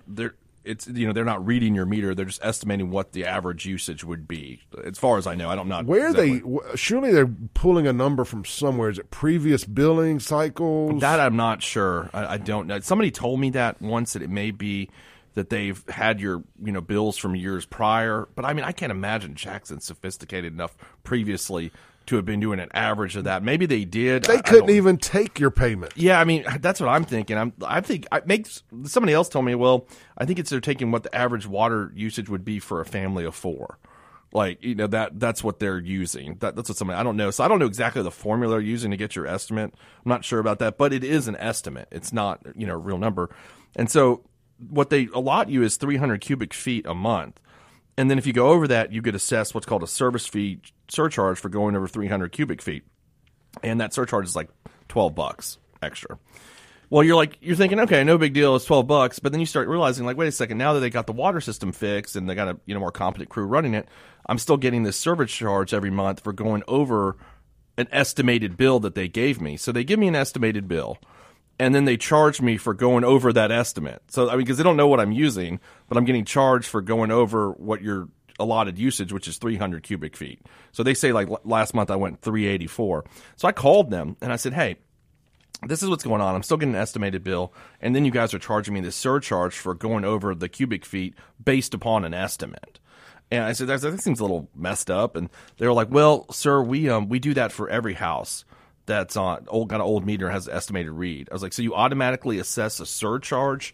they're not reading your meter; they're just estimating what the average usage would be. As far as I know, I don't know. Surely they're pulling a number from somewhere. Is it previous billing cycles? That I'm not sure. I don't know. Somebody told me that once, that it may be that they've had your bills from years prior. But I mean, I can't imagine Jackson's sophisticated enough previously to have been doing an average of that. Maybe they did. They couldn't even take your payment. Yeah, I mean, that's what I'm thinking. Somebody else told me, well, I think they're taking what the average water usage would be for a family of four. Like, that's what they're using. That's what somebody, I don't know. So I don't know exactly the formula they're using to get your estimate. I'm not sure about that, but it is an estimate. It's not, a real number. And so what they allot you is 300 cubic feet a month. And then if you go over that, you get assessed what's called a service fee surcharge for going over 300 cubic feet. And that surcharge is like $12 extra. Well, you're thinking, okay, no big deal, it's $12, but then you start realizing, like, wait a second, now that they got the water system fixed and they got a more competent crew running it, I'm still getting this service charge every month for going over an estimated bill that they gave me. So they give me an estimated bill, and then they charge me for going over that estimate. So, I mean, because they don't know what I'm using, but I'm getting charged for going over what your allotted usage, which is 300 cubic feet. So they say, like, last month I went 384. So I called them, and I said, hey, this is what's going on. I'm still getting an estimated bill, and then you guys are charging me this surcharge for going over the cubic feet based upon an estimate. And I said, that seems a little messed up. And they were like, well, sir, we do that for every house that's got an old meter, has an estimated read. I was like, so you automatically assess a surcharge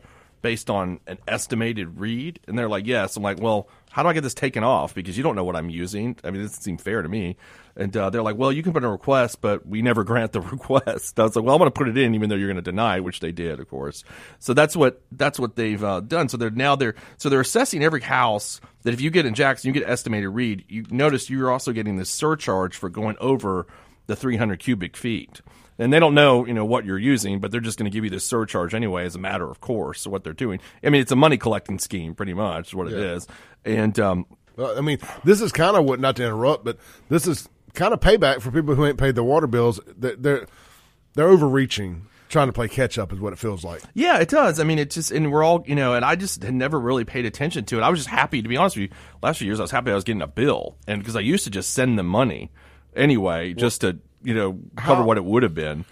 based on an estimated read? And they're like, yes. I'm like, well, how do I get this taken off? Because you don't know what I'm using. I mean, this doesn't seem fair to me. And they're like, well, you can put in a request, but we never grant the request. I was like, well, I'm going to put it in, even though you're going to deny, which they did, of course. So that's what they've done. So they're assessing every house that if you get in Jackson, you get estimated read. You notice you're also getting this surcharge for going over the 300 cubic feet. And they don't know, what you're using, but they're just going to give you this surcharge anyway as a matter of course. So what they're doing, I mean, it's a money collecting scheme, pretty much, is what it is. And well, I mean, this is kind of what, not to interrupt, but this is kind of payback for people who ain't paid their water bills. They're overreaching, trying to play catch up, is what it feels like. Yeah, it does. I mean, it just, and we're all, and I just had never really paid attention to it. I was just happy, to be honest with you. Last few years, I was happy I was getting a bill, and because I used to just send them money anyway, just to cover what it would have been.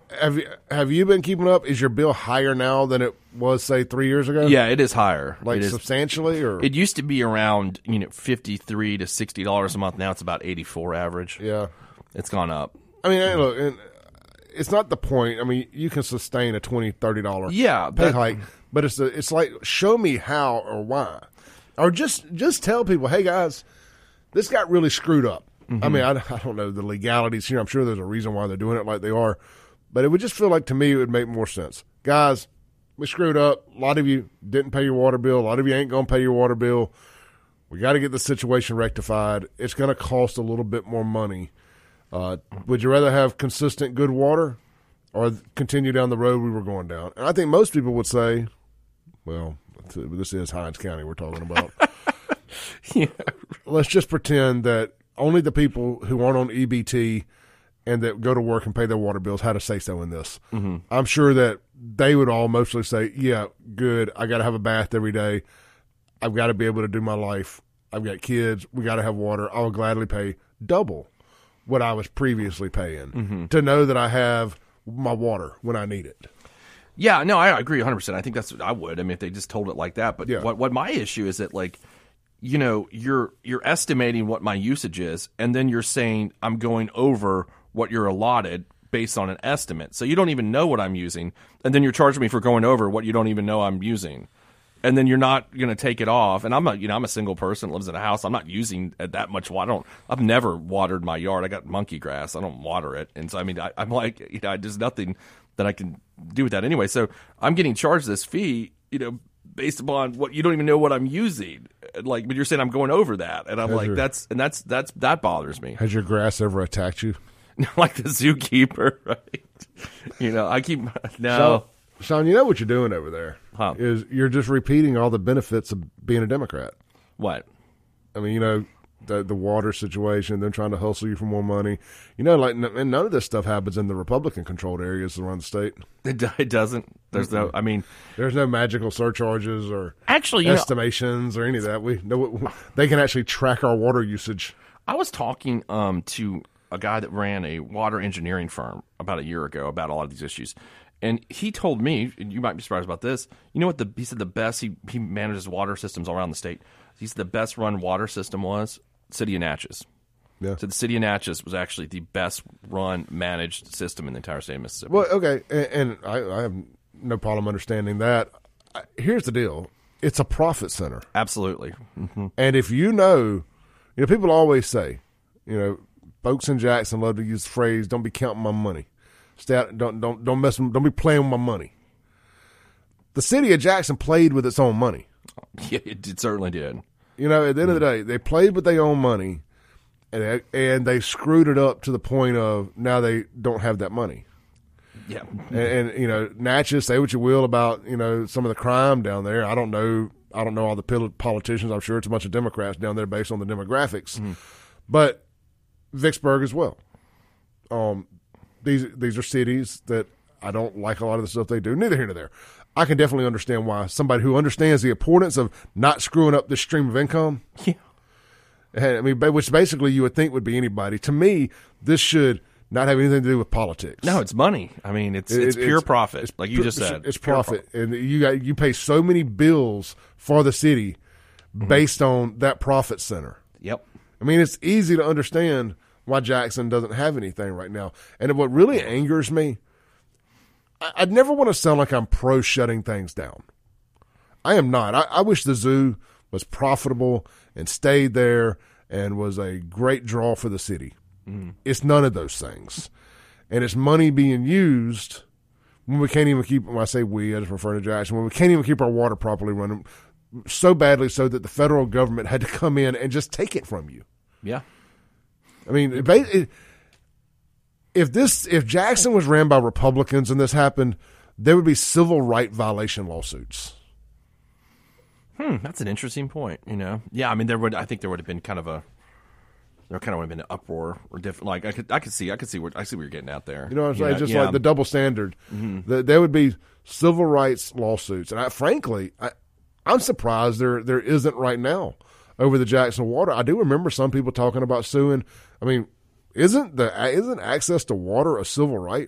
Have you been keeping up? Is your bill higher now than it was, say, 3 years ago? Yeah, it is higher. Like substantially, or it used to be around $53 to $60 a month. Now it's about $84 average. Yeah, it's gone up. I mean, look, it's not the point. I mean, you can sustain a $20, $30 pay hike, but it's like, show me how or why, or just tell people, hey guys, this got really screwed up. I mean, I don't know the legalities here. I'm sure there's a reason why they're doing it like they are. But it would just feel like, to me, it would make more sense. Guys, we screwed up. A lot of you didn't pay your water bill. A lot of you ain't going to pay your water bill. We got to get the situation rectified. It's going to cost a little bit more money. Would you rather have consistent good water or continue down the road we were going down? And I think most people would say, well, this is Hinds County we're talking about. Yeah. Let's just pretend that only the people who aren't on EBT and that go to work and pay their water bills had a say-so in this. Mm-hmm. I'm sure that they would all mostly say, yeah, good, I got to have a bath every day. I've got to be able to do my life. I've got kids. We got to have water. I will gladly pay double what I was previously paying to know that I have my water when I need it. Yeah, no, I agree 100%. I think that's what I would. I mean, if they just told it like that. But what my issue is that, like, you're estimating what my usage is, and then you're saying I'm going over what you're allotted based on an estimate. So you don't even know what I'm using, and then you're charging me for going over what you don't even know I'm using. And then you're not going to take it off. And I'm a single person that lives in a house. I'm not using that much water. I've never watered my yard. I got monkey grass. I don't water it. And so, I mean, I'm like, there's nothing that I can do with that anyway. So I'm getting charged this fee, based upon what you don't even know what I'm using. Like, but you're saying I'm going over that. And I'm like, that bothers me. Has your grass ever attacked you? Like the zookeeper, right? I keep, no. Sean, you know what you're doing over there is you're just repeating all the benefits of being a Democrat. What? I mean, the water situation, them trying to hustle you for more money. And none of this stuff happens in the Republican-controlled areas around the state. It doesn't. There's there's no magical surcharges or actually estimations or any of that. They can actually track our water usage. I was talking to a guy that ran a water engineering firm about a year ago about a lot of these issues. And he told me, and you might be surprised about this, you know what he said the best, he manages water systems all around the state. He said the best run water system was City of Natchez. Yeah. So the City of Natchez was actually the best run managed system in the entire state of Mississippi. Well, okay, and I have no problem understanding that. Here's the deal. It's a profit center. Absolutely. Mm-hmm. And if people always say, folks in Jackson love to use the phrase, don't be counting my money. Stay out, don't mess. Don't be playing with my money. The city of Jackson played with its own money. Yeah, it certainly did. At the end of the day, they played with their own money, and they screwed it up to the point of now they don't have that money. Yeah, and Natchez, say what you will about some of the crime down there. I don't know all the politicians. I'm sure it's a bunch of Democrats down there based on the demographics, but Vicksburg as well. These are cities that I don't like a lot of the stuff they do. Neither here nor there. I can definitely understand why somebody who understands the importance of not screwing up this stream of income. Yeah. I mean, which basically you would think would be anybody. To me, this should not have anything to do with politics. No, it's money. I mean, it's pure profit, like you just said. It's profit, and you pay so many bills for the city based on that profit center. Yep. I mean, it's easy to understand why Jackson doesn't have anything right now. And what really angers me, I'd never want to sound like I'm pro shutting things down. I am not. I wish the zoo was profitable and stayed there and was a great draw for the city. It's none of those things. And it's money being used when we can't even keep, when I say we, I just refer to Jackson, when we can't even keep our water properly running so badly so that the federal government had to come in and just take it from you. Yeah. I mean, if Jackson was ran by Republicans and this happened, there would be civil right violation lawsuits. That's an interesting point. Yeah. I mean, I think there would have been kind of a. There kind of would have been an uproar or different. Like I could see what you're getting at there. You know what I'm saying? Just like the double standard. There would be civil rights lawsuits, and frankly, I'm surprised there isn't right now over the Jackson water. I do remember some people talking about suing. I mean, isn't access to water a civil right?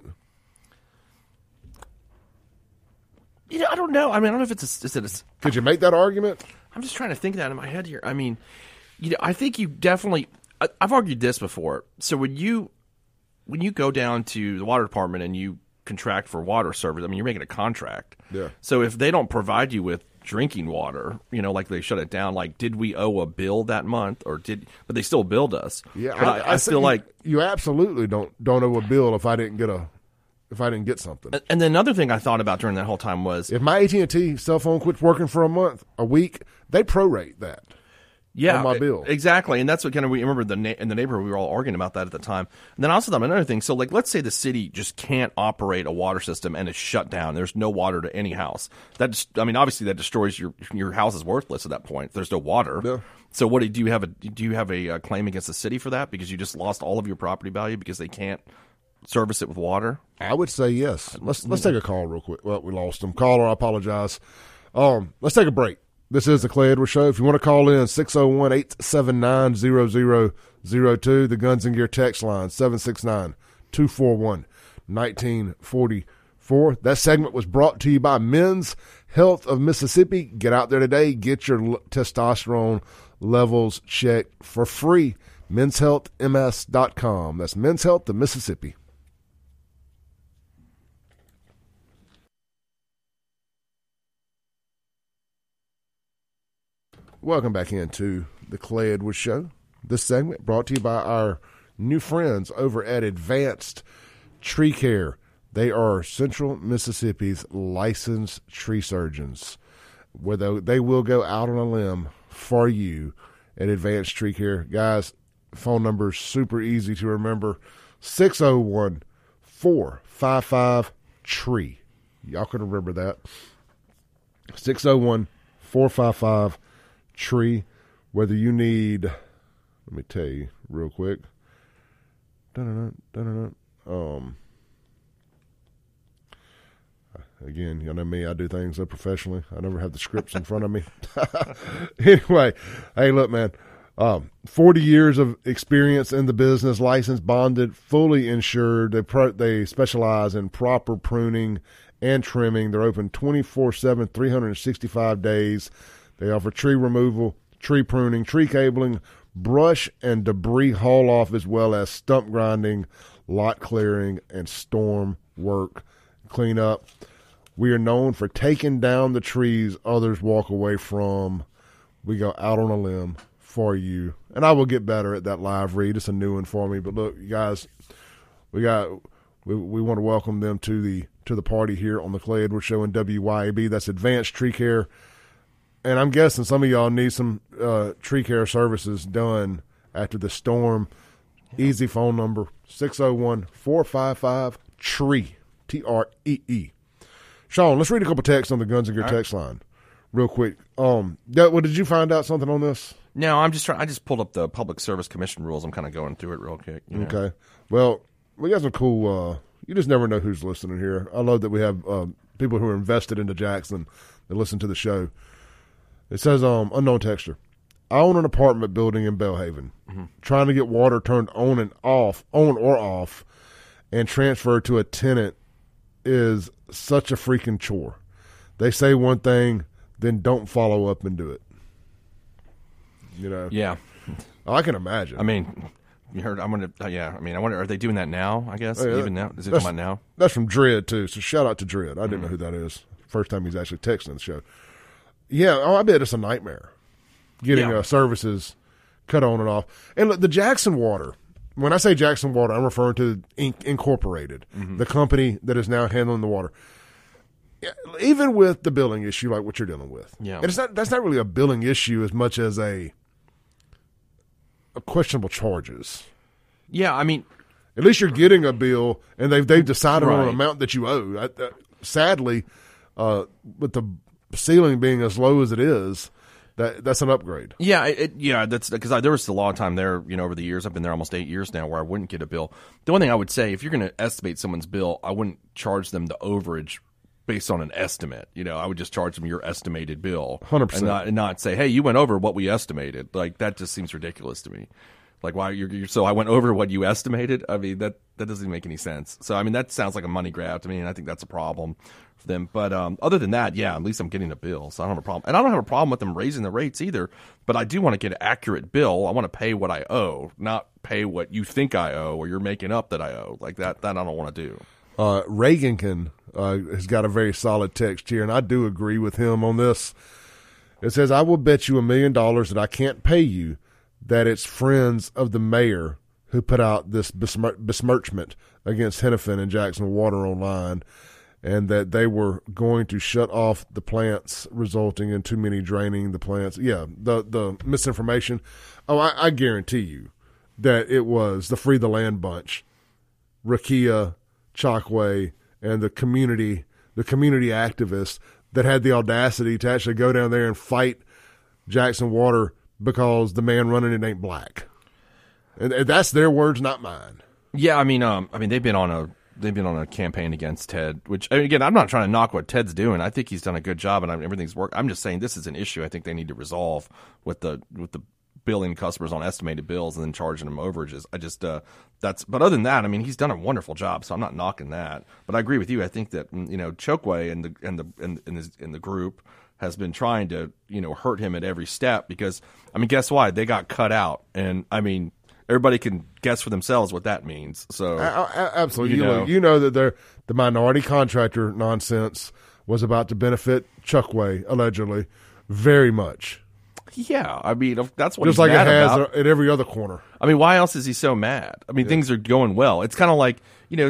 I don't know. I mean, I don't know if it's. Could you make that argument? I'm just trying to think that in my head here. I mean, I think you definitely. I've argued this before. So when you go down to the water department and you contract for water service, I mean, you're making a contract. Yeah. So if they don't provide you with drinking water, like they shut it down, like did we owe a bill that month but they still billed us. Yeah. But I feel like you absolutely don't owe a bill if I didn't get something. And then another thing I thought about during that whole time was if my AT&T cell phone quits working for a week, they prorate that. Yeah, on my bill. Exactly, and that's what kind of we remember in the neighborhood we were all arguing about that at the time. And then I also thought another thing. So, like, let's say the city just can't operate a water system and it's shut down. There's no water to any house. Obviously that destroys your house is worthless at that point. There's no water. Yeah. So, what do you have a claim against the city for that because you just lost all of your property value because they can't service it with water? I would say yes. Let's take a call real quick. Well, we lost him. Caller, I apologize. Let's take a break. This is the Clay Edwards Show. If you want to call in, 601-879-0002. The Guns and Gear text line, 769-241-1944. That segment was brought to you by Men's Health of Mississippi. Get out there today. Get your testosterone levels checked for free. Men'sHealthMS.com. That's Men's Health of Mississippi. Welcome back into the Clay Edwards Show. This segment brought to you by our new friends over at Advanced Tree Care. They are Central Mississippi's licensed tree surgeons. Where they will go out on a limb for you at Advanced Tree Care. Guys, phone number is super easy to remember. 601-455-TREE. Y'all can remember that. 601-455-TREE. Whether you need, let me tell you real quick. Again, you know me, I do things so professionally. I never have the scripts in front of me. Anyway, hey, look, man, 40 years of experience in the business, licensed, bonded, fully insured. They specialize in proper pruning and trimming. They're open 24/7, 365 days. They offer tree removal, tree pruning, tree cabling, brush and debris haul off, as well as stump grinding, lot clearing, and storm work cleanup. We are known for taking down the trees others walk away from. We go out on a limb for you. And I will get better at that live read. It's a new one for me. But look, you guys, we want to welcome them to the party here on the Clay Edwards Show in WYAB. That's Advanced Tree Care. And I'm guessing some of y'all need some tree care services done after the storm. Easy phone number, 601-455-TREE, Tree. Sean, let's read a couple texts on the Guns and Gear text line real quick. Did you find out something on this? No, I just pulled up the Public Service Commission rules. I'm kind of going through it real quick. Okay. Well, we got some cool you just never know who's listening here. I love that we have people who are invested into Jackson that listen to the show. It says, unknown texter, I own an apartment building in Belhaven. Trying to get water turned on or off, and transferred to a tenant is such a freaking chore. They say one thing, then don't follow up and do it. You know? Yeah. I can imagine. I mean, you heard, I wonder, are they doing that now, I guess? Even now? Is it coming out now? That's from Dread, too. So shout out to Dread. I didn't know who that is. First time he's actually texting the show. Yeah, I bet it's a nightmare getting services cut on and off. And look, the Jackson Water, when I say Jackson Water, I'm referring to Incorporated, the company that is now handling the water. Even with the billing issue like what you're dealing with. Yeah. And that's not really a billing issue as much as a questionable charges. Yeah, I mean, at least you're getting a bill, and they've decided on an Right. amount that you owe. Sadly, with the ceiling being as low as it is, that's an upgrade. Yeah, that's because there was a long time there, over the years. I've been there almost 8 years now where I wouldn't get a bill. The one thing I would say, if you're going to estimate someone's bill, I wouldn't charge them the overage based on an estimate. I would just charge them your estimated bill. 100%. And not say, hey, you went over what we estimated. Like, that just seems ridiculous to me. Like, why so I went over what you estimated? I mean, that doesn't make any sense. So, I mean, that sounds like a money grab to me, and I think that's a problem for them. But other than that, yeah, at least I'm getting a bill, so I don't have a problem. And I don't have a problem with them raising the rates either, but I do want to get an accurate bill. I want to pay what I owe, not pay what you think I owe or you're making up that I owe. Like, that I don't want to do. Reagankin has got a very solid text here, and I do agree with him on this. It says, I will bet you $1 million that I can't pay you that it's friends of the mayor who put out this besmirchment against Hennepin and Jackson Water online, and that they were going to shut off the plants, resulting in too many draining the plants. Yeah, the misinformation. Oh, I guarantee you that it was the Free the Land bunch, Rakia, Chokwe, and the community activists that had the audacity to actually go down there and fight Jackson Water because the man running it ain't black. And that's their words, not mine. Yeah, I mean, they've been on a campaign against Ted, which, again, I'm not trying to knock what Ted's doing. I think he's done a good job and everything's worked. I'm just saying this is an issue I think they need to resolve with the billing customers on estimated bills and then charging them overages. But other than that, I mean, he's done a wonderful job, so I'm not knocking that. But I agree with you. I think that, Chokwe and the group has been trying to, hurt him at every step because, I mean, guess what? They got cut out. And, I mean, everybody can guess for themselves what that means. So absolutely. You know that the minority contractor nonsense was about to benefit Chokwe, allegedly, very much. Yeah, I mean, that's what just he's like mad it has about. at every other corner. I mean, why else is he so mad? I mean, things are going well. It's kind of like,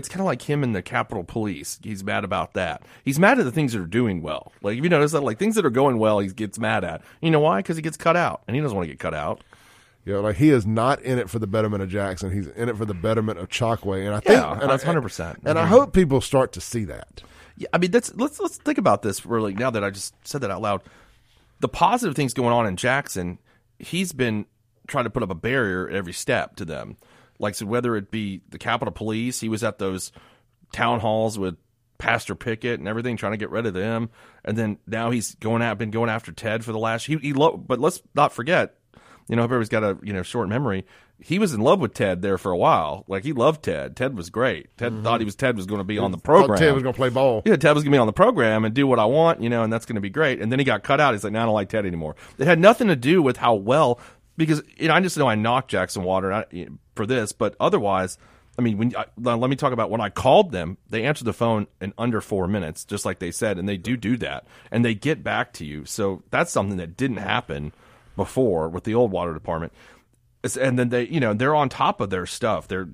him and the Capitol Police. He's mad about that. He's mad at the things that are doing well. Like, if you notice that, like, things that are going well, he gets mad at. You know why? Because he gets cut out, and he doesn't want to get cut out. Yeah, like he is not in it for the betterment of Jackson. He's in it for the betterment of Chokwe, and I think, and that's 100%. And I hope people start to see that. Yeah, I mean, let's think about this really. Now that I just said that out loud, the positive things going on in Jackson, he's been trying to put up a barrier at every step to them. Like, so whether it be the Capitol Police, he was at those town halls with Pastor Pickett and everything, trying to get rid of them, and then now he's been going after Ted for the last. But let's not forget, everybody's got a short memory. He was in love with Ted there for a while. Like, he loved Ted. Ted was great. Ted thought Ted was going to be on the program. Ted was going to play ball. Yeah, Ted was going to be on the program and do what I want, and that's going to be great. And then he got cut out. He's like, I don't like Ted anymore. It had nothing to do with how well, because I just know I knocked Jackson Water for this, but otherwise, I mean, let me talk about when I called them. They answered the phone in under 4 minutes, just like they said, and they do that, and they get back to you. So that's something that didn't happen before with the old water department. And then they're on top of their stuff. They're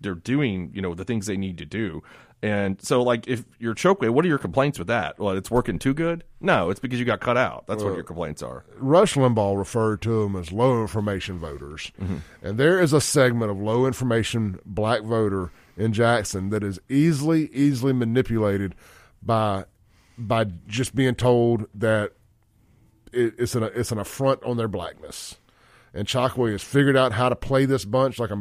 doing the things they need to do. And so, like, if you're Chokwe, what are your complaints with that? Well, it's working too good? No, it's because you got cut out. That's what your complaints are. Rush Limbaugh referred to them as low information voters. Mm-hmm. And there is a segment of low information black voter in Jackson that is easily manipulated by just being told that it's an affront on their blackness. And Chokwe has figured out how to play this bunch like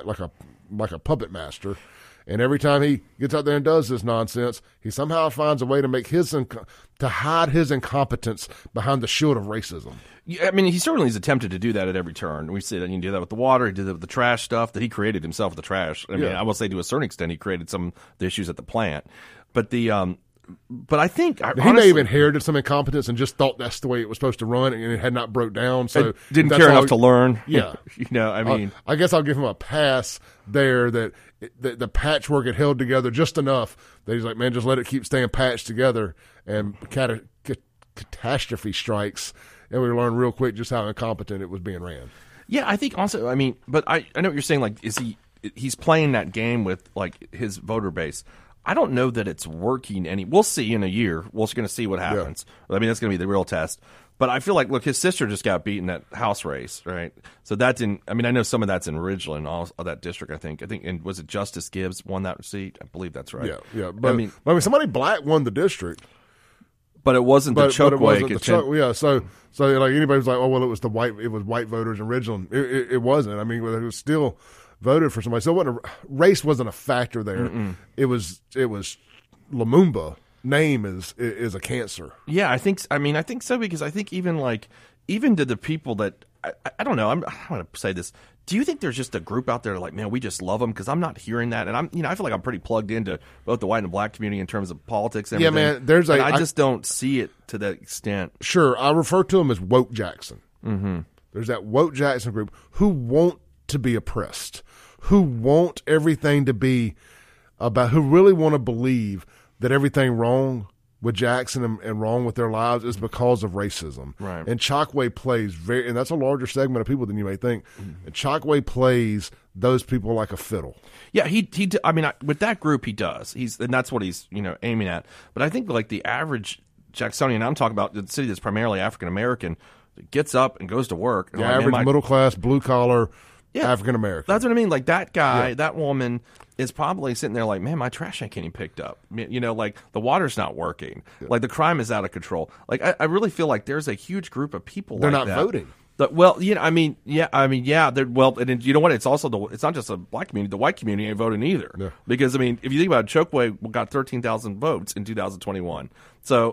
a puppet master. And every time he gets out there and does this nonsense, he somehow finds a way to make to hide his incompetence behind the shield of racism. Yeah, I mean, he certainly has attempted to do that at every turn. We see that he did that with the water. He did that with the trash stuff that he created himself. The trash. I mean, I will say to a certain extent, he created some of the issues at the plant. But I think he may have inherited some incompetence and just thought that's the way it was supposed to run, and it had not broke down. So didn't care enough to learn. Yeah, I mean, I guess I'll give him a pass there. That the patchwork had held together just enough that he's like, man, just let it keep staying patched together, and catastrophe strikes, and we learned real quick just how incompetent it was being ran. Yeah, I think also, I mean, but I know what you're saying. Like, he's playing that game with like his voter base. I don't know that it's working we'll see in a year. We're going to see what happens. Yeah. I mean, that's going to be the real test. But I feel like, look, his sister just got beat in that House race, right? So that's I mean, I know some of that's in Ridgeland, all of that district, I think, and was it Justice Gibbs won that seat? I believe that's right. Yeah. But I mean, somebody black won the district. But it wasn't the Chokwe. So like anybody was like, oh well, it was white voters in Ridgeland. It wasn't. I mean, it was still voted for somebody. So race wasn't a factor there. Mm-mm. It was Lumumba name is a cancer. Yeah, I think so, because I think even to the people that I don't know. I'm going to say this. Do you think there's just a group out there like, man, we just love them? Because I'm not hearing that, and I feel like I'm pretty plugged into both the white and black community in terms of politics and everything. Yeah, man. I just don't see it to that extent. Sure, I refer to them as woke Jackson. Mm-hmm. There's that woke Jackson group who want to be oppressed, who want everything to be about, who really want to believe that everything wrong with Jackson and wrong with their lives is because of racism. Right. And Chokwe plays and that's a larger segment of people than you may think. Mm-hmm. And Chokwe plays those people like a fiddle. Yeah, with that group he does. And that's what he's, aiming at. But I think like the average Jacksonian, I'm talking about the city that's primarily African American, gets up and goes to work. The average middle class, blue collar, African American. That's what I mean. Like that guy, that woman is probably sitting there like, man, my trash ain't getting picked up. Like the water's not working. Yeah. Like the crime is out of control. Like I really feel like there's a huge group of people they're like not voting. Well, and you know what? It's also it's not just a black community. The white community ain't voting either. Yeah. Because if you think about it, Chokwe got 13,000 votes in 2021. So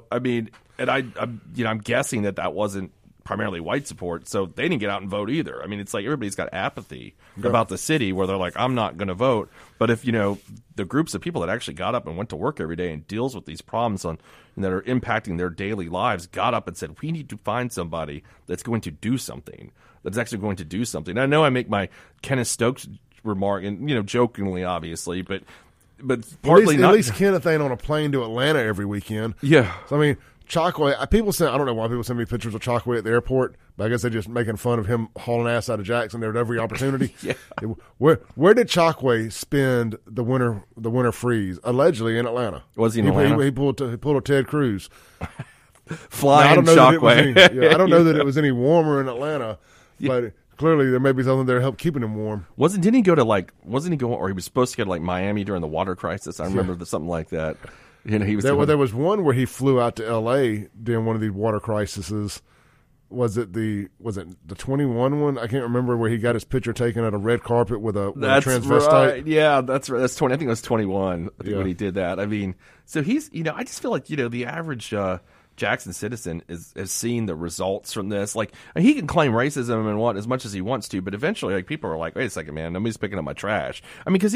I'm guessing that wasn't primarily white support, so they didn't get out and vote either. I mean, it's like everybody's got apathy about the city where they're like, I'm not going to vote. But if the groups of people that actually got up and went to work every day and deals with these problems that are impacting their daily lives got up and said, we need to find somebody that's going to do something, that's actually going to do something. And I know I make my Kenneth Stokes remark, and jokingly, obviously, but partly at least Kenneth ain't on a plane to Atlanta every weekend. Yeah. So I mean, Chokwe, I don't know why people send me pictures of Chokwe at the airport, but I guess they're just making fun of him hauling ass out of Jackson there at every opportunity. Yeah. Where did Chokwe spend the winter freeze? Allegedly in Atlanta. Was he in Atlanta? He pulled a Ted Cruz. Flying Chokwe. I don't know that it was any warmer in Atlanta, but clearly there may be something there to help keeping him warm. Didn't he go to or he was supposed to go to like Miami during the water crisis? I remember something like that. There was one where he flew out to L.A. during one of these water crises. Was it the 21 one? I can't remember, where he got his picture taken at a red carpet with a transvestite. Right. Yeah, that's right. That's 20. I think it was 21. When he did that. I mean, so he's I just feel like the average Jackson citizen has seen the results from this. Like, he can claim racism and as much as he wants to, but eventually, like, people are like, wait a second, man, nobody's picking up my trash. I mean, because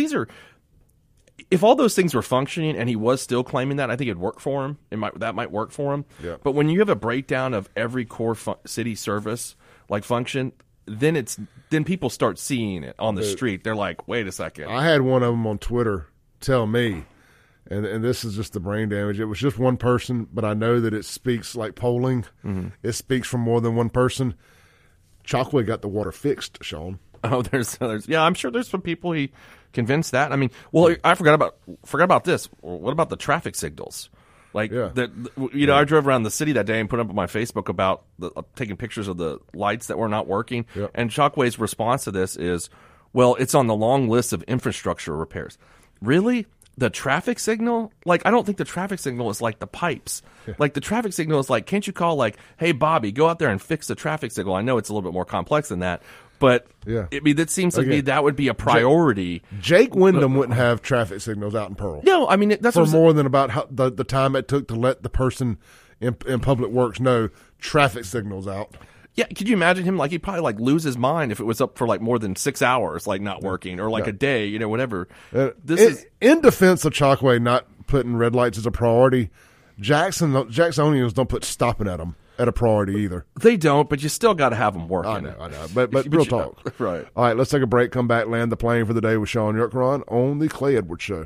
if all those things were functioning and he was still claiming that, I think it'd work for him. That might work for him. Yeah. But when you have a breakdown of every core city service like function, then people start seeing it on the street. They're like, wait a second. I had one of them on Twitter tell me, and this is just the brain damage. It was just one person, but I know that it speaks like polling. Mm-hmm. It speaks from more than one person. Chokwe got the water fixed, Sean. Oh, there's I'm sure there's some people he convinced that. I mean, well, I forgot about this. What about the traffic signals? Like, I drove around the city that day and put up on my Facebook about taking pictures of the lights that were not working. Yeah. And Chokwe's response to this is, well, it's on the long list of infrastructure repairs. Really? The traffic signal? Like, I don't think the traffic signal is like the pipes. Yeah. Like, the traffic signal is like, can't you call, like, hey, Bobby, go out there and fix the traffic signal? I know it's a little bit more complex than that. But that seems to me that would be a priority. Jake Wyndham wouldn't have traffic signals out in Pearl. No, I mean, that's for more than about the time it took to let the person in Public Works know traffic signals out. Yeah, could you imagine him? Like, he'd probably like lose his mind if it was up for like more than 6 hours, like not working, or like a day, whatever. In defense of Chokwe not putting red lights as a priority, Jacksonians don't put stopping at them at a priority either. They don't, but you still got to have them working. I know. But real talk. Right. All right, let's take a break, come back, land the plane for the day with Sean Yurtkuran on the Clay Edwards Show.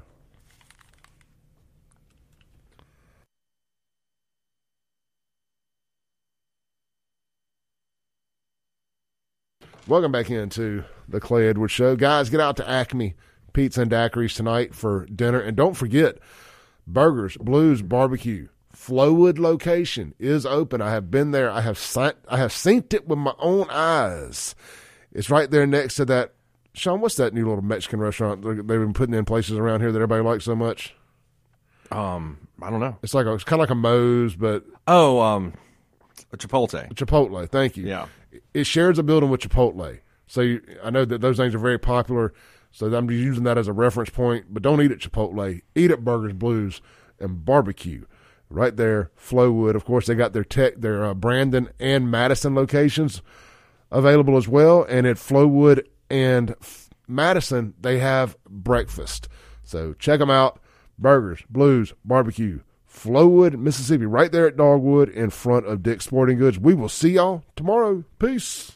Welcome back into the Clay Edwards Show. Guys, get out to Acme Pizza and Daiquiris tonight for dinner. And don't forget, Burgers, Blues, Barbecue. Flowwood location is open. I have been there. I have seen it with my own eyes. It's right there next to that. Sean, what's that new little Mexican restaurant they've been putting in places around here that everybody likes so much? I don't know. It's kind of like a Moe's, but a Chipotle. Chipotle. Thank you. Yeah. It shares a building with Chipotle. So I know that those things are very popular. So I'm just using that as a reference point. But don't eat at Chipotle. Eat at Burgers, Blues, and Barbecue. Right there, Flowwood. Of course, they got their Brandon and Madison locations available as well. And at Flowwood and Madison, they have breakfast. So check them out. Burgers, Blues, Barbecue. Flowwood, Mississippi, right there at Dogwood in front of Dick's Sporting Goods. We will see y'all tomorrow. Peace.